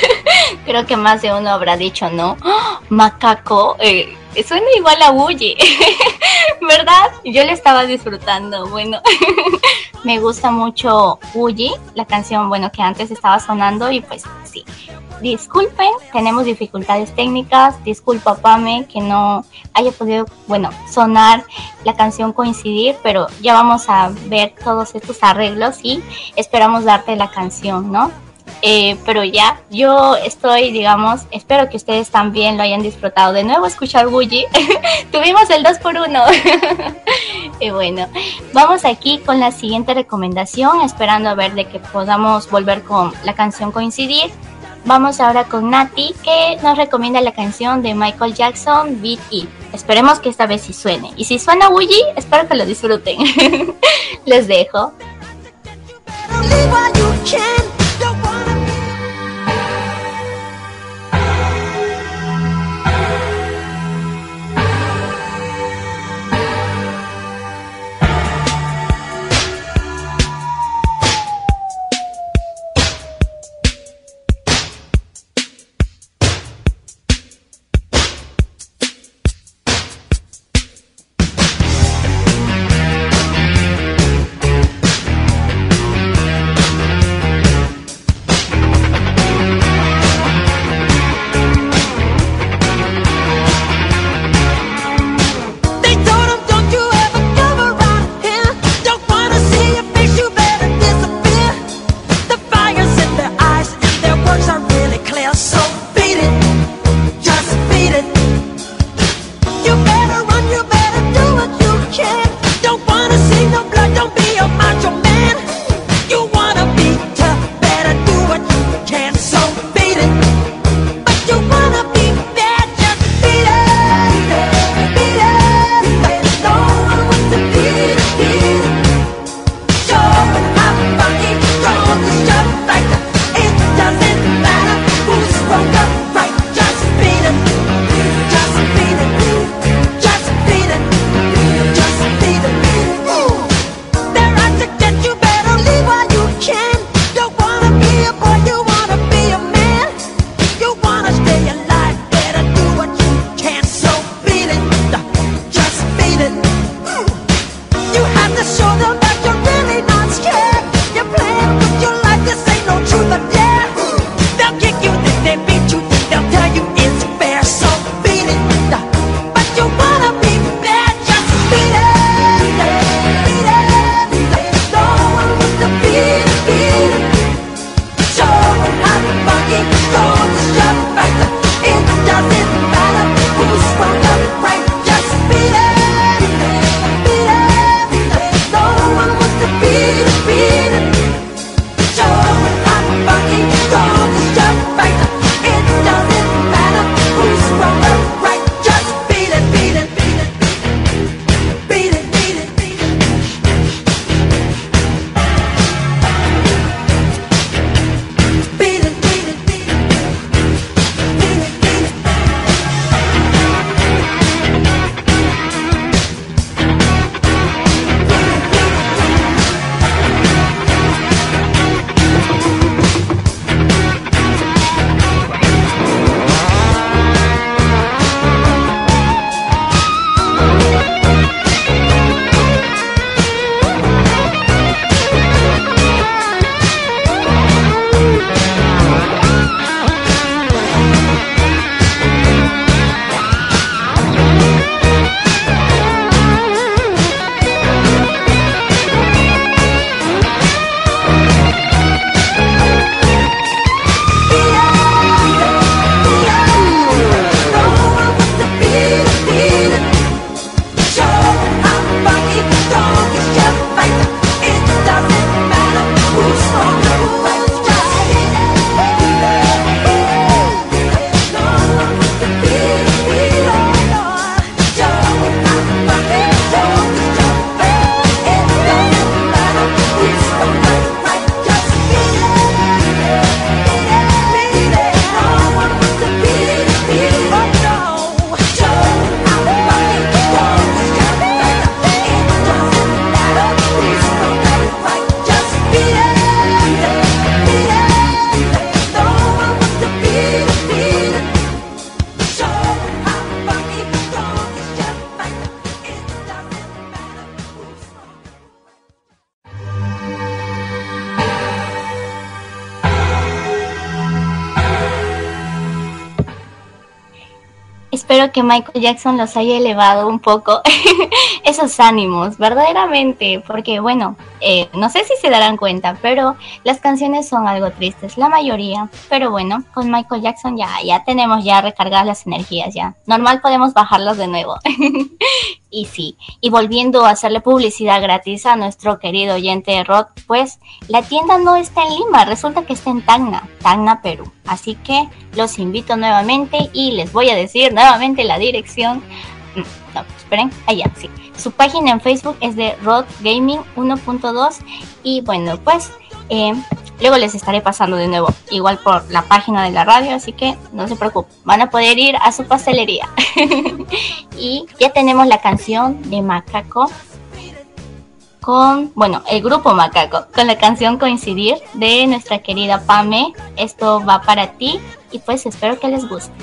Creo que más de uno habrá dicho, ¿no? ¡Oh, Macaco! Suena igual a Wuyi, ¿verdad? Yo le estaba disfrutando. Bueno, me gusta mucho Wuyi, la canción, bueno, que antes estaba sonando y pues sí. Disculpen, tenemos dificultades técnicas. Disculpa, Pame, que no haya podido, bueno, sonar la canción Coincidir, pero ya vamos a ver todos estos arreglos y esperamos darte la canción, ¿no? Pero ya, yo estoy, digamos, espero que ustedes también lo hayan disfrutado. De nuevo escuchar Wuyi. Tuvimos el 2x1. Y bueno, vamos aquí con la siguiente recomendación, esperando a ver de que podamos volver con la canción Coincidir. Vamos ahora con Nati, que nos recomienda la canción de Michael Jackson, Beat It. Esperemos que esta vez sí suene. Y si suena Wuyi, espero que lo disfruten. Les dejo. espero que Michael Jackson los haya elevado un poco esos ánimos, verdaderamente, porque bueno, no sé si se darán cuenta, pero las canciones son algo tristes, la mayoría, pero bueno, con Michael Jackson ya tenemos ya recargadas las energías, ya normal podemos bajarlas de nuevo. Y sí, y volviendo a hacerle publicidad gratis a nuestro querido oyente Rod, pues la tienda no está en Lima, resulta que está en Tacna, Perú. Así que los invito nuevamente y les voy a decir nuevamente la dirección. No, esperen, allá, sí. Su página en Facebook es de Rod Gaming 1.2 y bueno, pues luego les estaré pasando de nuevo, igual por la página de la radio, así que no se preocupen, van a poder ir a su pastelería. Y ya tenemos la canción de Macaco con, bueno, el grupo Macaco, con la canción Coincidir de nuestra querida Pame. Esto va para ti y pues espero que les guste.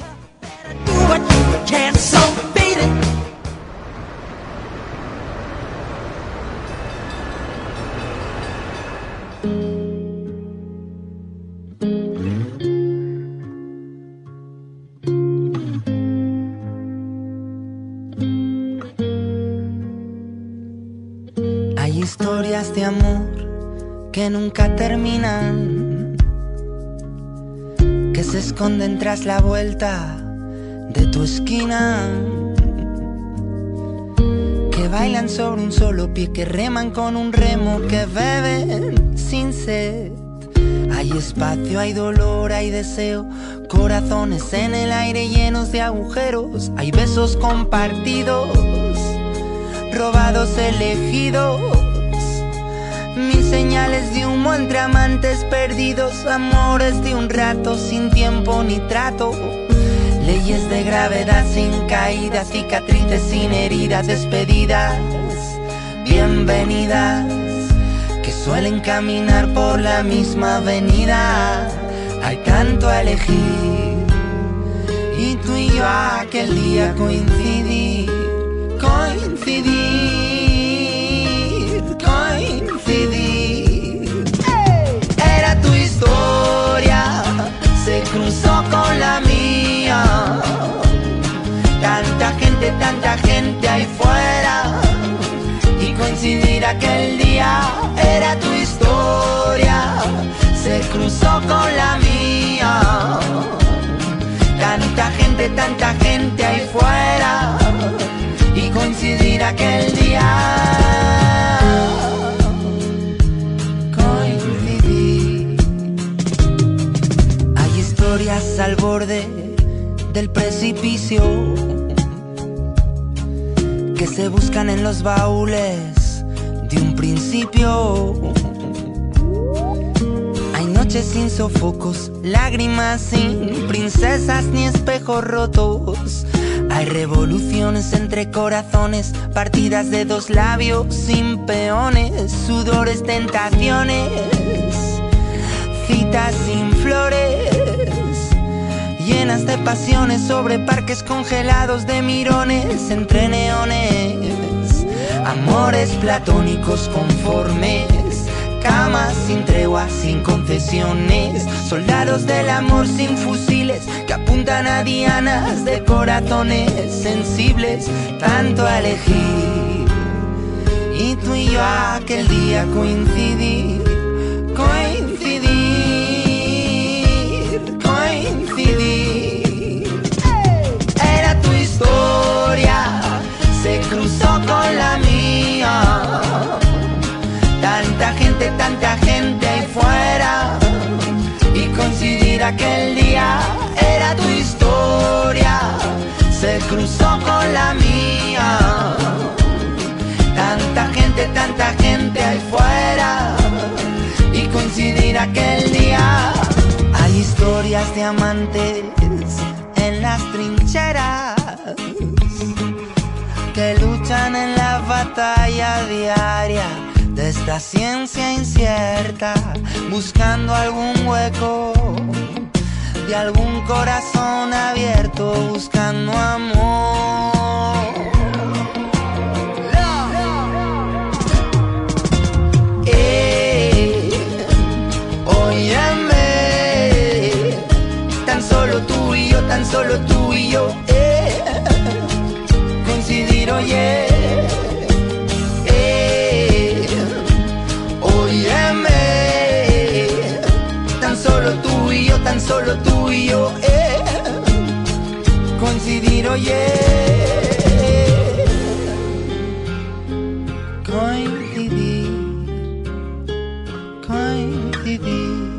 Hay historias de amor que nunca terminan, que se esconden tras la vuelta de tu esquina, que bailan sobre un solo pie, que reman con un remo, que beben sin sed. Hay espacio, hay dolor, hay deseo, corazones en el aire llenos de agujeros. Hay besos compartidos, robados, elegidos, mil señales de humo entre amantes perdidos, amores de un rato sin tiempo ni trato, leyes de gravedad sin caídas, cicatrices sin heridas, despedidas, bienvenidas, que suelen caminar por la misma avenida. Hay tanto a elegir y tú y yo aquel día coincidimos. Coincidir. Era tu historia, se cruzó con la mía. Tanta gente ahí fuera, y coincidir aquel día. Era tu historia, se cruzó con la mía. Tanta gente ahí fuera, y coincidir aquel día. Coincidir. Hay historias al borde del precipicio que se buscan en los baúles de un principio. Hay noches sin sofocos, lágrimas sin princesas ni espejos rotos. Hay revoluciones entre corazones, partidas de dos labios sin peones, sudores, tentaciones, citas sin flores, llenas de pasiones sobre parques congelados de mirones entre neones, amores platónicos conformes, camas sin treguas, sin concesiones, soldados del amor sin fusiles que apuntan a dianas de corazones sensibles. Tanto a elegir y tú y yo aquel día coincidir. Era tu historia, se cruzó con la mía. Tanta gente ahí fuera, y coincidir aquel día. Era tu historia, se cruzó con la mía. Tanta gente ahí fuera, y coincidir aquel día. Hay historias de amantes en las trincheras que luchan en la batalla diaria de esta ciencia incierta, buscando algún hueco de algún corazón abierto, buscando amor. Óyeme, tan solo tú y yo, decidir.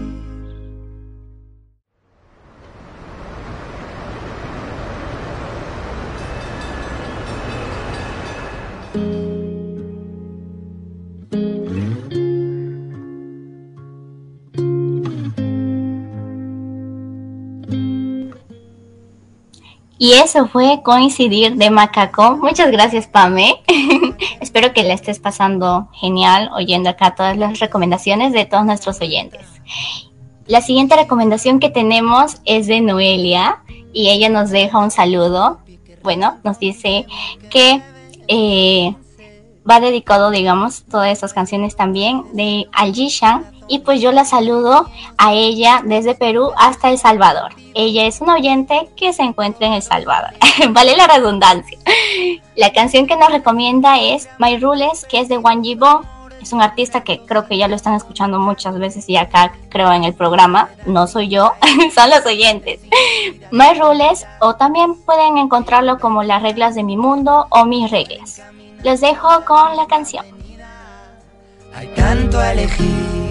Y eso fue Coincidir de Macaco. Muchas gracias, Pame. Espero que la estés pasando genial oyendo acá todas las recomendaciones de todos nuestros oyentes. La siguiente recomendación que tenemos es de Noelia y ella nos deja un saludo. Bueno, nos dice que va dedicado, digamos, todas estas canciones también de Al Jishan. Y pues yo la saludo a ella desde Perú hasta El Salvador. Ella es una oyente que se encuentra en El Salvador. Vale la redundancia. La canción que nos recomienda es My Rules, que es de Wang Yibo. Es un artista que creo que ya lo están escuchando muchas veces y acá creo en el programa. No soy yo, son los oyentes. My Rules, o también pueden encontrarlo como Las Reglas de mi Mundo o Mis Reglas. Los dejo con la canción. Hay tanto a elegir.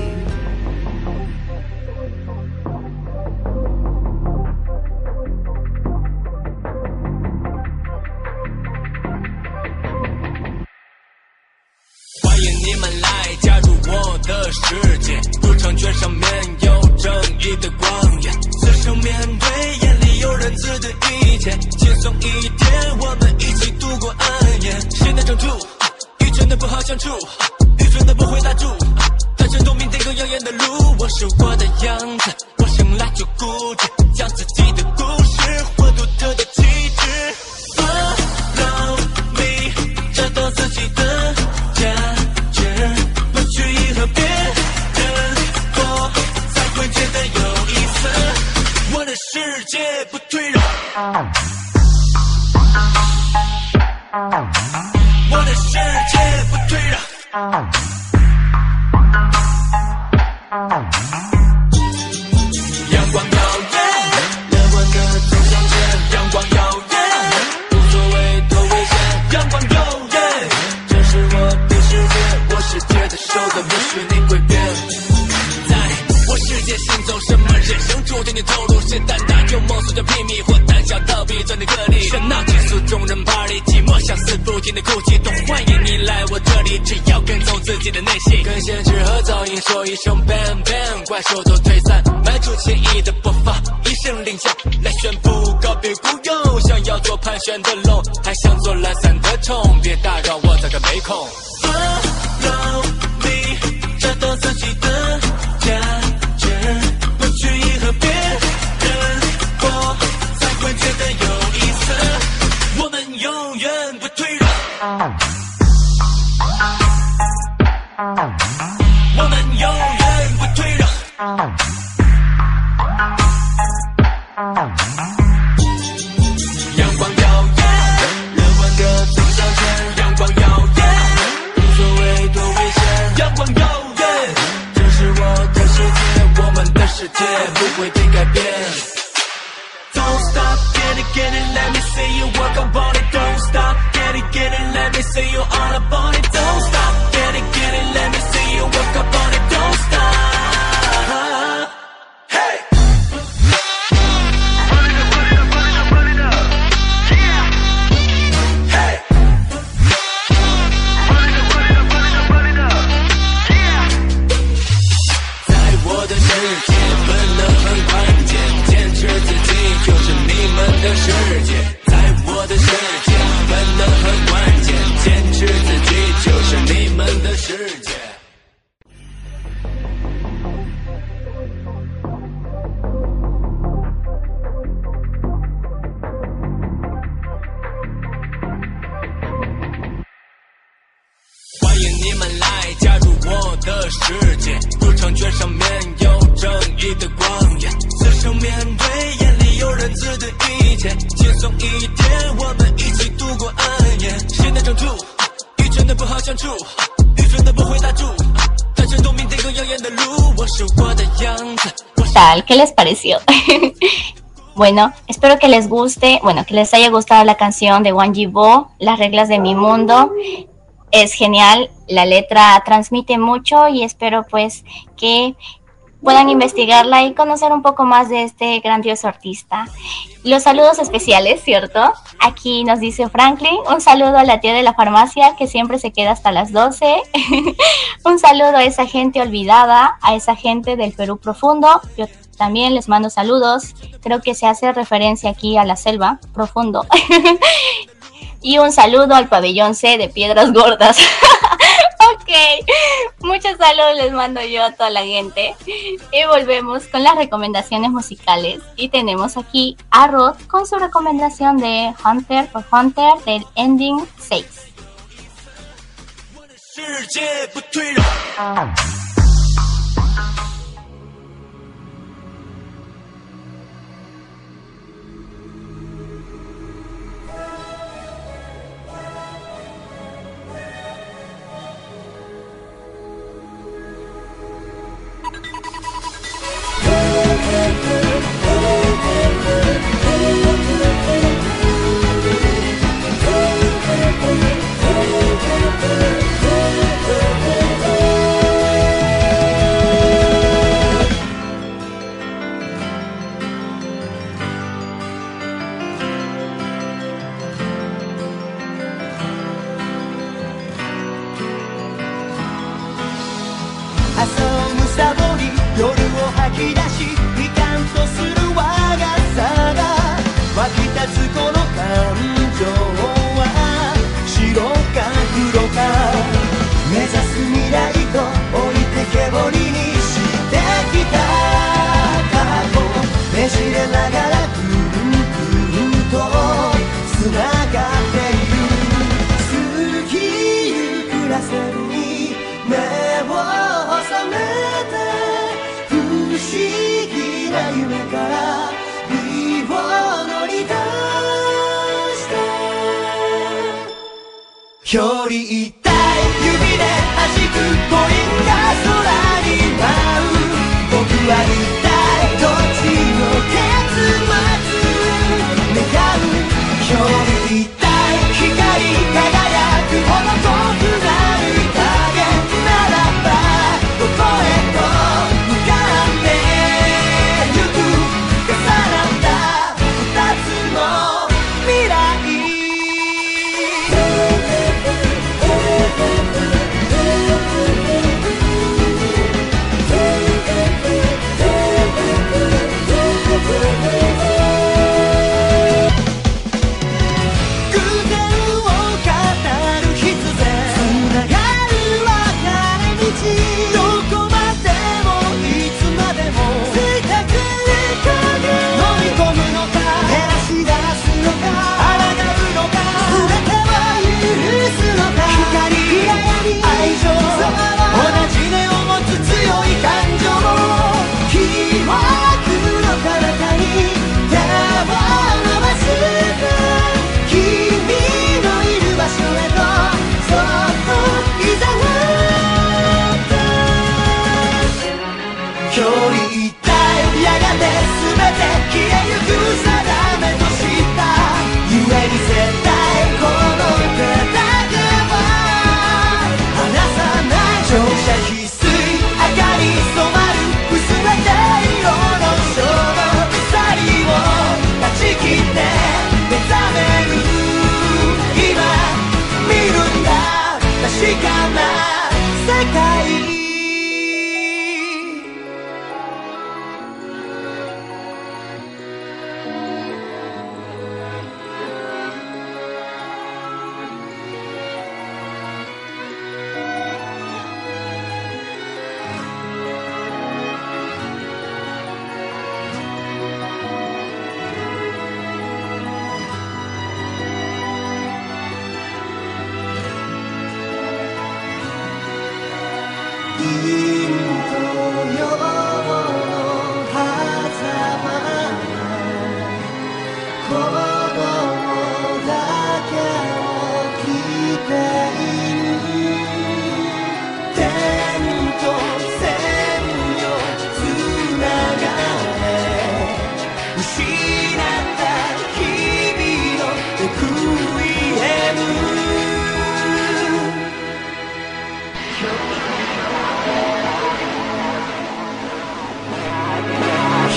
tal? ¿Qué les pareció? Bueno, espero que les guste, que les haya gustado la canción de Wang Yibo, Las Reglas de mi Mundo. Es genial, la letra transmite mucho y espero pues que puedan investigarla y conocer un poco más de este grandioso artista. Los saludos especiales, ¿cierto? Aquí nos dice Franklin, un saludo a la tía de la farmacia que siempre se queda hasta las 12. Un saludo a esa gente olvidada, a esa gente del Perú profundo. Yo también les mando saludos. Creo que se hace referencia aquí a la selva profundo. Y un saludo al pabellón C de Piedras Gordas. Ok, muchos saludos les mando yo a toda la gente. Y volvemos con las recomendaciones musicales. Y tenemos aquí a Rod con su recomendación de Hunter x Hunter del Ending 6.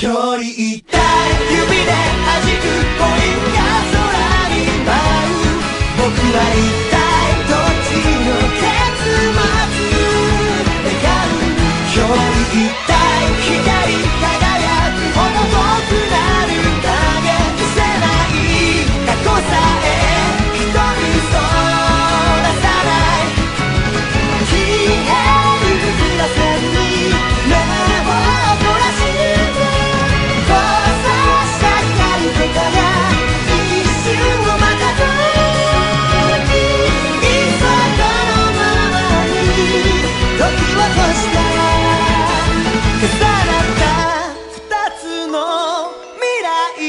距離一体指で弾くコインが空に舞う僕は一体どっちの結末願う距離一体光り輝くほど遠くなる影消せない過去さえ瞳そらさない消えるグラスに目を凝らして交差した光手から一瞬を待たずにいっそこのままに時を越した重なった二つの未来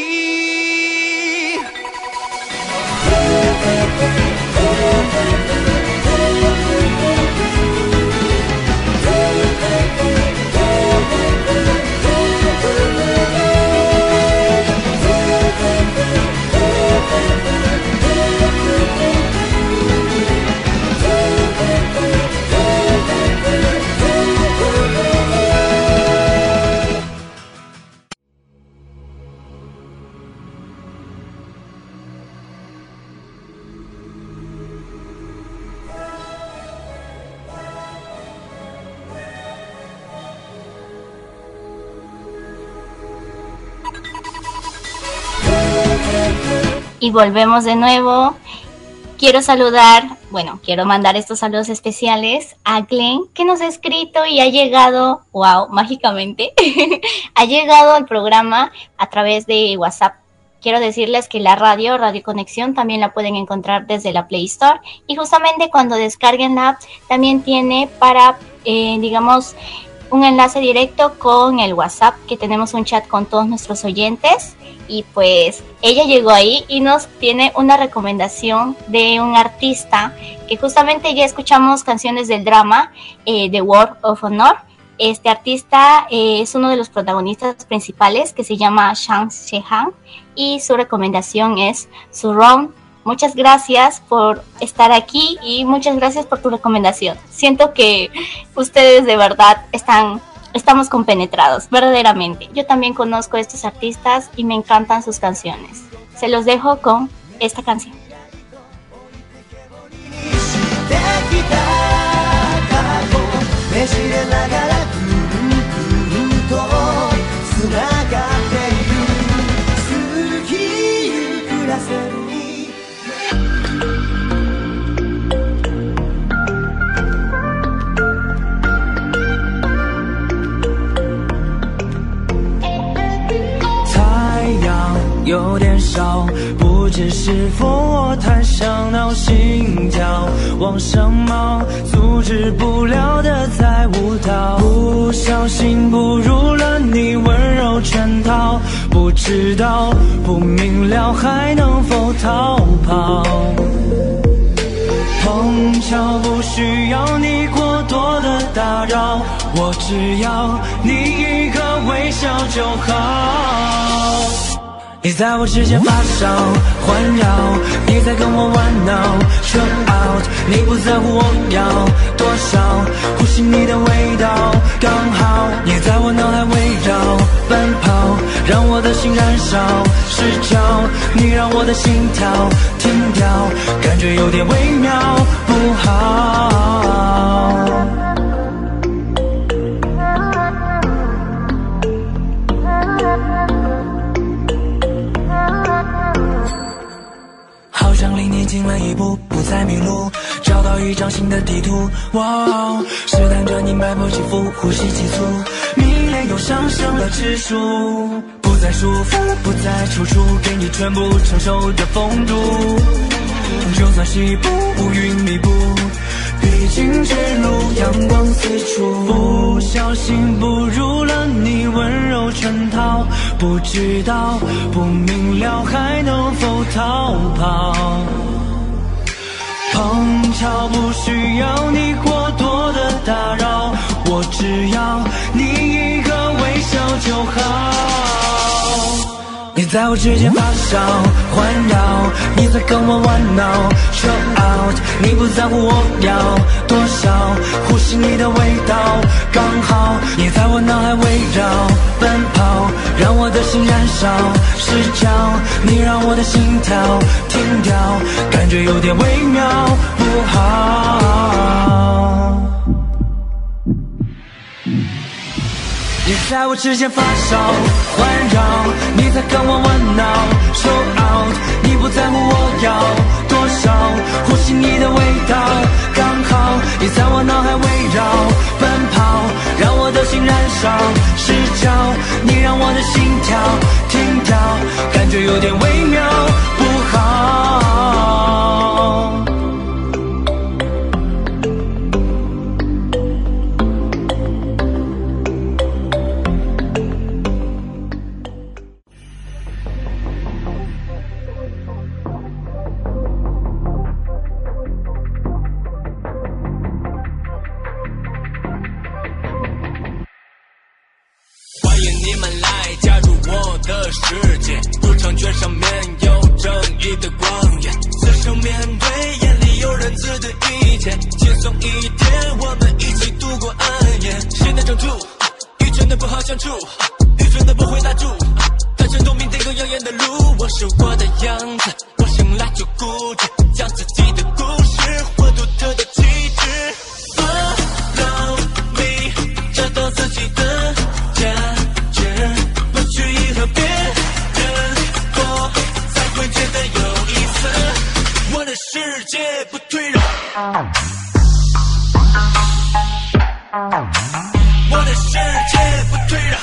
Y volvemos de nuevo. Quiero mandar estos saludos especiales a Glenn, que nos ha escrito y ha llegado, wow, mágicamente, ha llegado al programa a través de WhatsApp. Quiero decirles que la Radio Conexión, también la pueden encontrar desde la Play Store. Y justamente cuando descarguen la app, también tiene para, digamos, un enlace directo con el WhatsApp, que tenemos un chat con todos nuestros oyentes. Y pues ella llegó ahí y nos tiene una recomendación de un artista que justamente ya escuchamos canciones del drama The World of Honor. Este artista es uno de los protagonistas principales, que se llama Shang Shehan, y su recomendación es Surround. Muchas gracias por estar aquí y muchas gracias por tu recomendación. Siento que ustedes de verdad estamos compenetrados, verdaderamente. Yo también conozco a estos artistas y me encantan sus canciones. Se los dejo con esta canción. 有点少，不知是否我太想闹，心跳往上冒，阻止不了的在舞蹈，不小心步入了你温柔圈套，不知道不明了还能否逃跑，碰巧不需要你过多的打扰，我只要你一个微笑就好。你在我指尖发烧环绕，你在跟我玩闹 Chill out， 你不在乎我要多少，呼吸你的味道刚好，你在我脑海围绕奔跑，让我的心燃烧失焦，你让我的心跳停掉，感觉有点微妙不好。离你近了一步，不再迷路，找到一张新的地图。哇，试探着你脉搏起伏，呼吸急促，迷恋又上升了指数，不再束缚，不再踌躇，给你全部承受的风度。就算西部乌云密布，毕竟坠入阳光四处，不小心步入了你温柔圈套，不知道不明了还能否逃跑，碰巧不需要你过多的打扰，我只要你一个微笑就好。你在我指尖发烧环绕，你在跟我玩闹 Chill out， 你不在乎我要多少，呼吸你的味道刚好，你在我脑海围绕奔跑，让的心燃烧，失焦，你让我的心跳停掉，感觉有点微妙，不好。你在我指尖发烧环绕，你在跟我玩闹 show out， 你不在乎我要多少，呼吸你的味道刚好，你在我脑海围绕奔跑，让我的心燃烧失焦，你让我的心跳停掉，感觉有点微妙不好。 世界入场券上面有正义的光焰，自生面对眼里有人自的意见，轻松一点，我们一起度过暗夜。谁能撑住愚蠢的不好相处，愚蠢的不会拉住，单身透明定个耀眼的路，我是我的样子，我生来就固执，讲自己的故事，我独特的气质。Follow me， 找到自己的价值，不去迎合别人过，才会觉得有意思。我的世界不退让，我的世界不退让。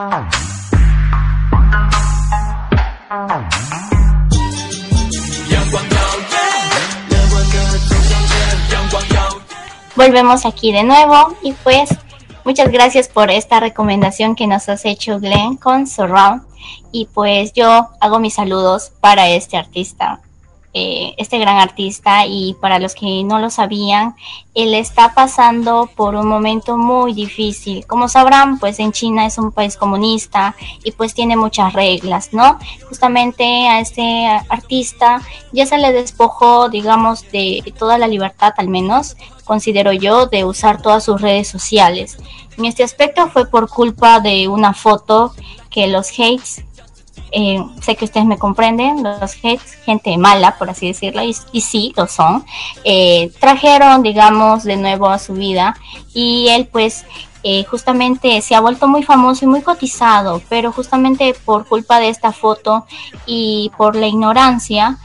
Volvemos aquí de nuevo y pues muchas gracias por esta recomendación que nos has hecho, Glenn, con Surround. Y pues yo hago mis saludos para este artista, este gran artista, y para los que no lo sabían, él está pasando por un momento muy difícil. Como sabrán, pues en China es un país comunista y pues tiene muchas reglas, ¿no? Justamente a este artista ya se le despojó, digamos, de toda la libertad, al menos considero yo, de usar todas sus redes sociales. En este aspecto fue por culpa de una foto que los hates, sé que ustedes me comprenden, los hates, gente mala, por así decirlo, y sí, lo son, trajeron, digamos, de nuevo a su vida, y él pues justamente se ha vuelto muy famoso y muy cotizado, pero justamente por culpa de esta foto y por la ignorancia,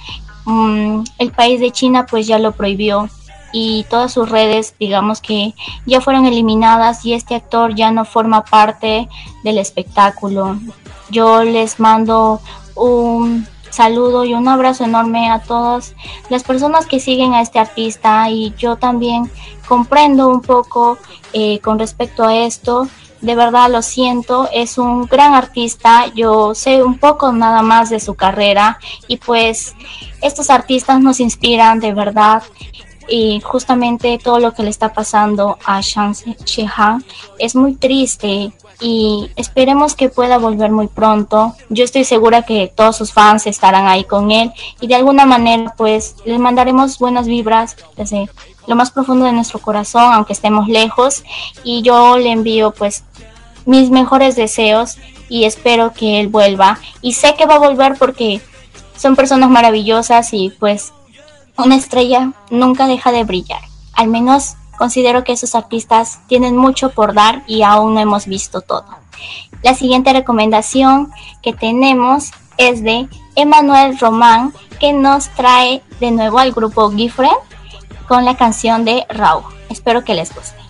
el país de China pues ya lo prohibió, y todas sus redes, digamos que ya fueron eliminadas, y este actor ya no forma parte del espectáculo. Yo les mando un saludo y un abrazo enorme a todas las personas que siguen a este artista, y yo también comprendo un poco con respecto a esto. De verdad lo siento, es un gran artista, yo sé un poco nada más de su carrera, y pues estos artistas nos inspiran de verdad. Y justamente todo lo que le está pasando a Zhang Zhihan es muy triste, y esperemos que pueda volver muy pronto. Yo estoy segura que todos sus fans estarán ahí con él, y de alguna manera pues les mandaremos buenas vibras desde lo más profundo de nuestro corazón, aunque estemos lejos, y yo le envío pues mis mejores deseos y espero que él vuelva, y sé que va a volver porque son personas maravillosas, y pues una estrella nunca deja de brillar. Al menos considero que esos artistas tienen mucho por dar y aún no hemos visto todo. La siguiente recomendación que tenemos es de Emmanuel Román, que nos trae de nuevo al grupo Gifren con la canción de Raw. Espero que les guste.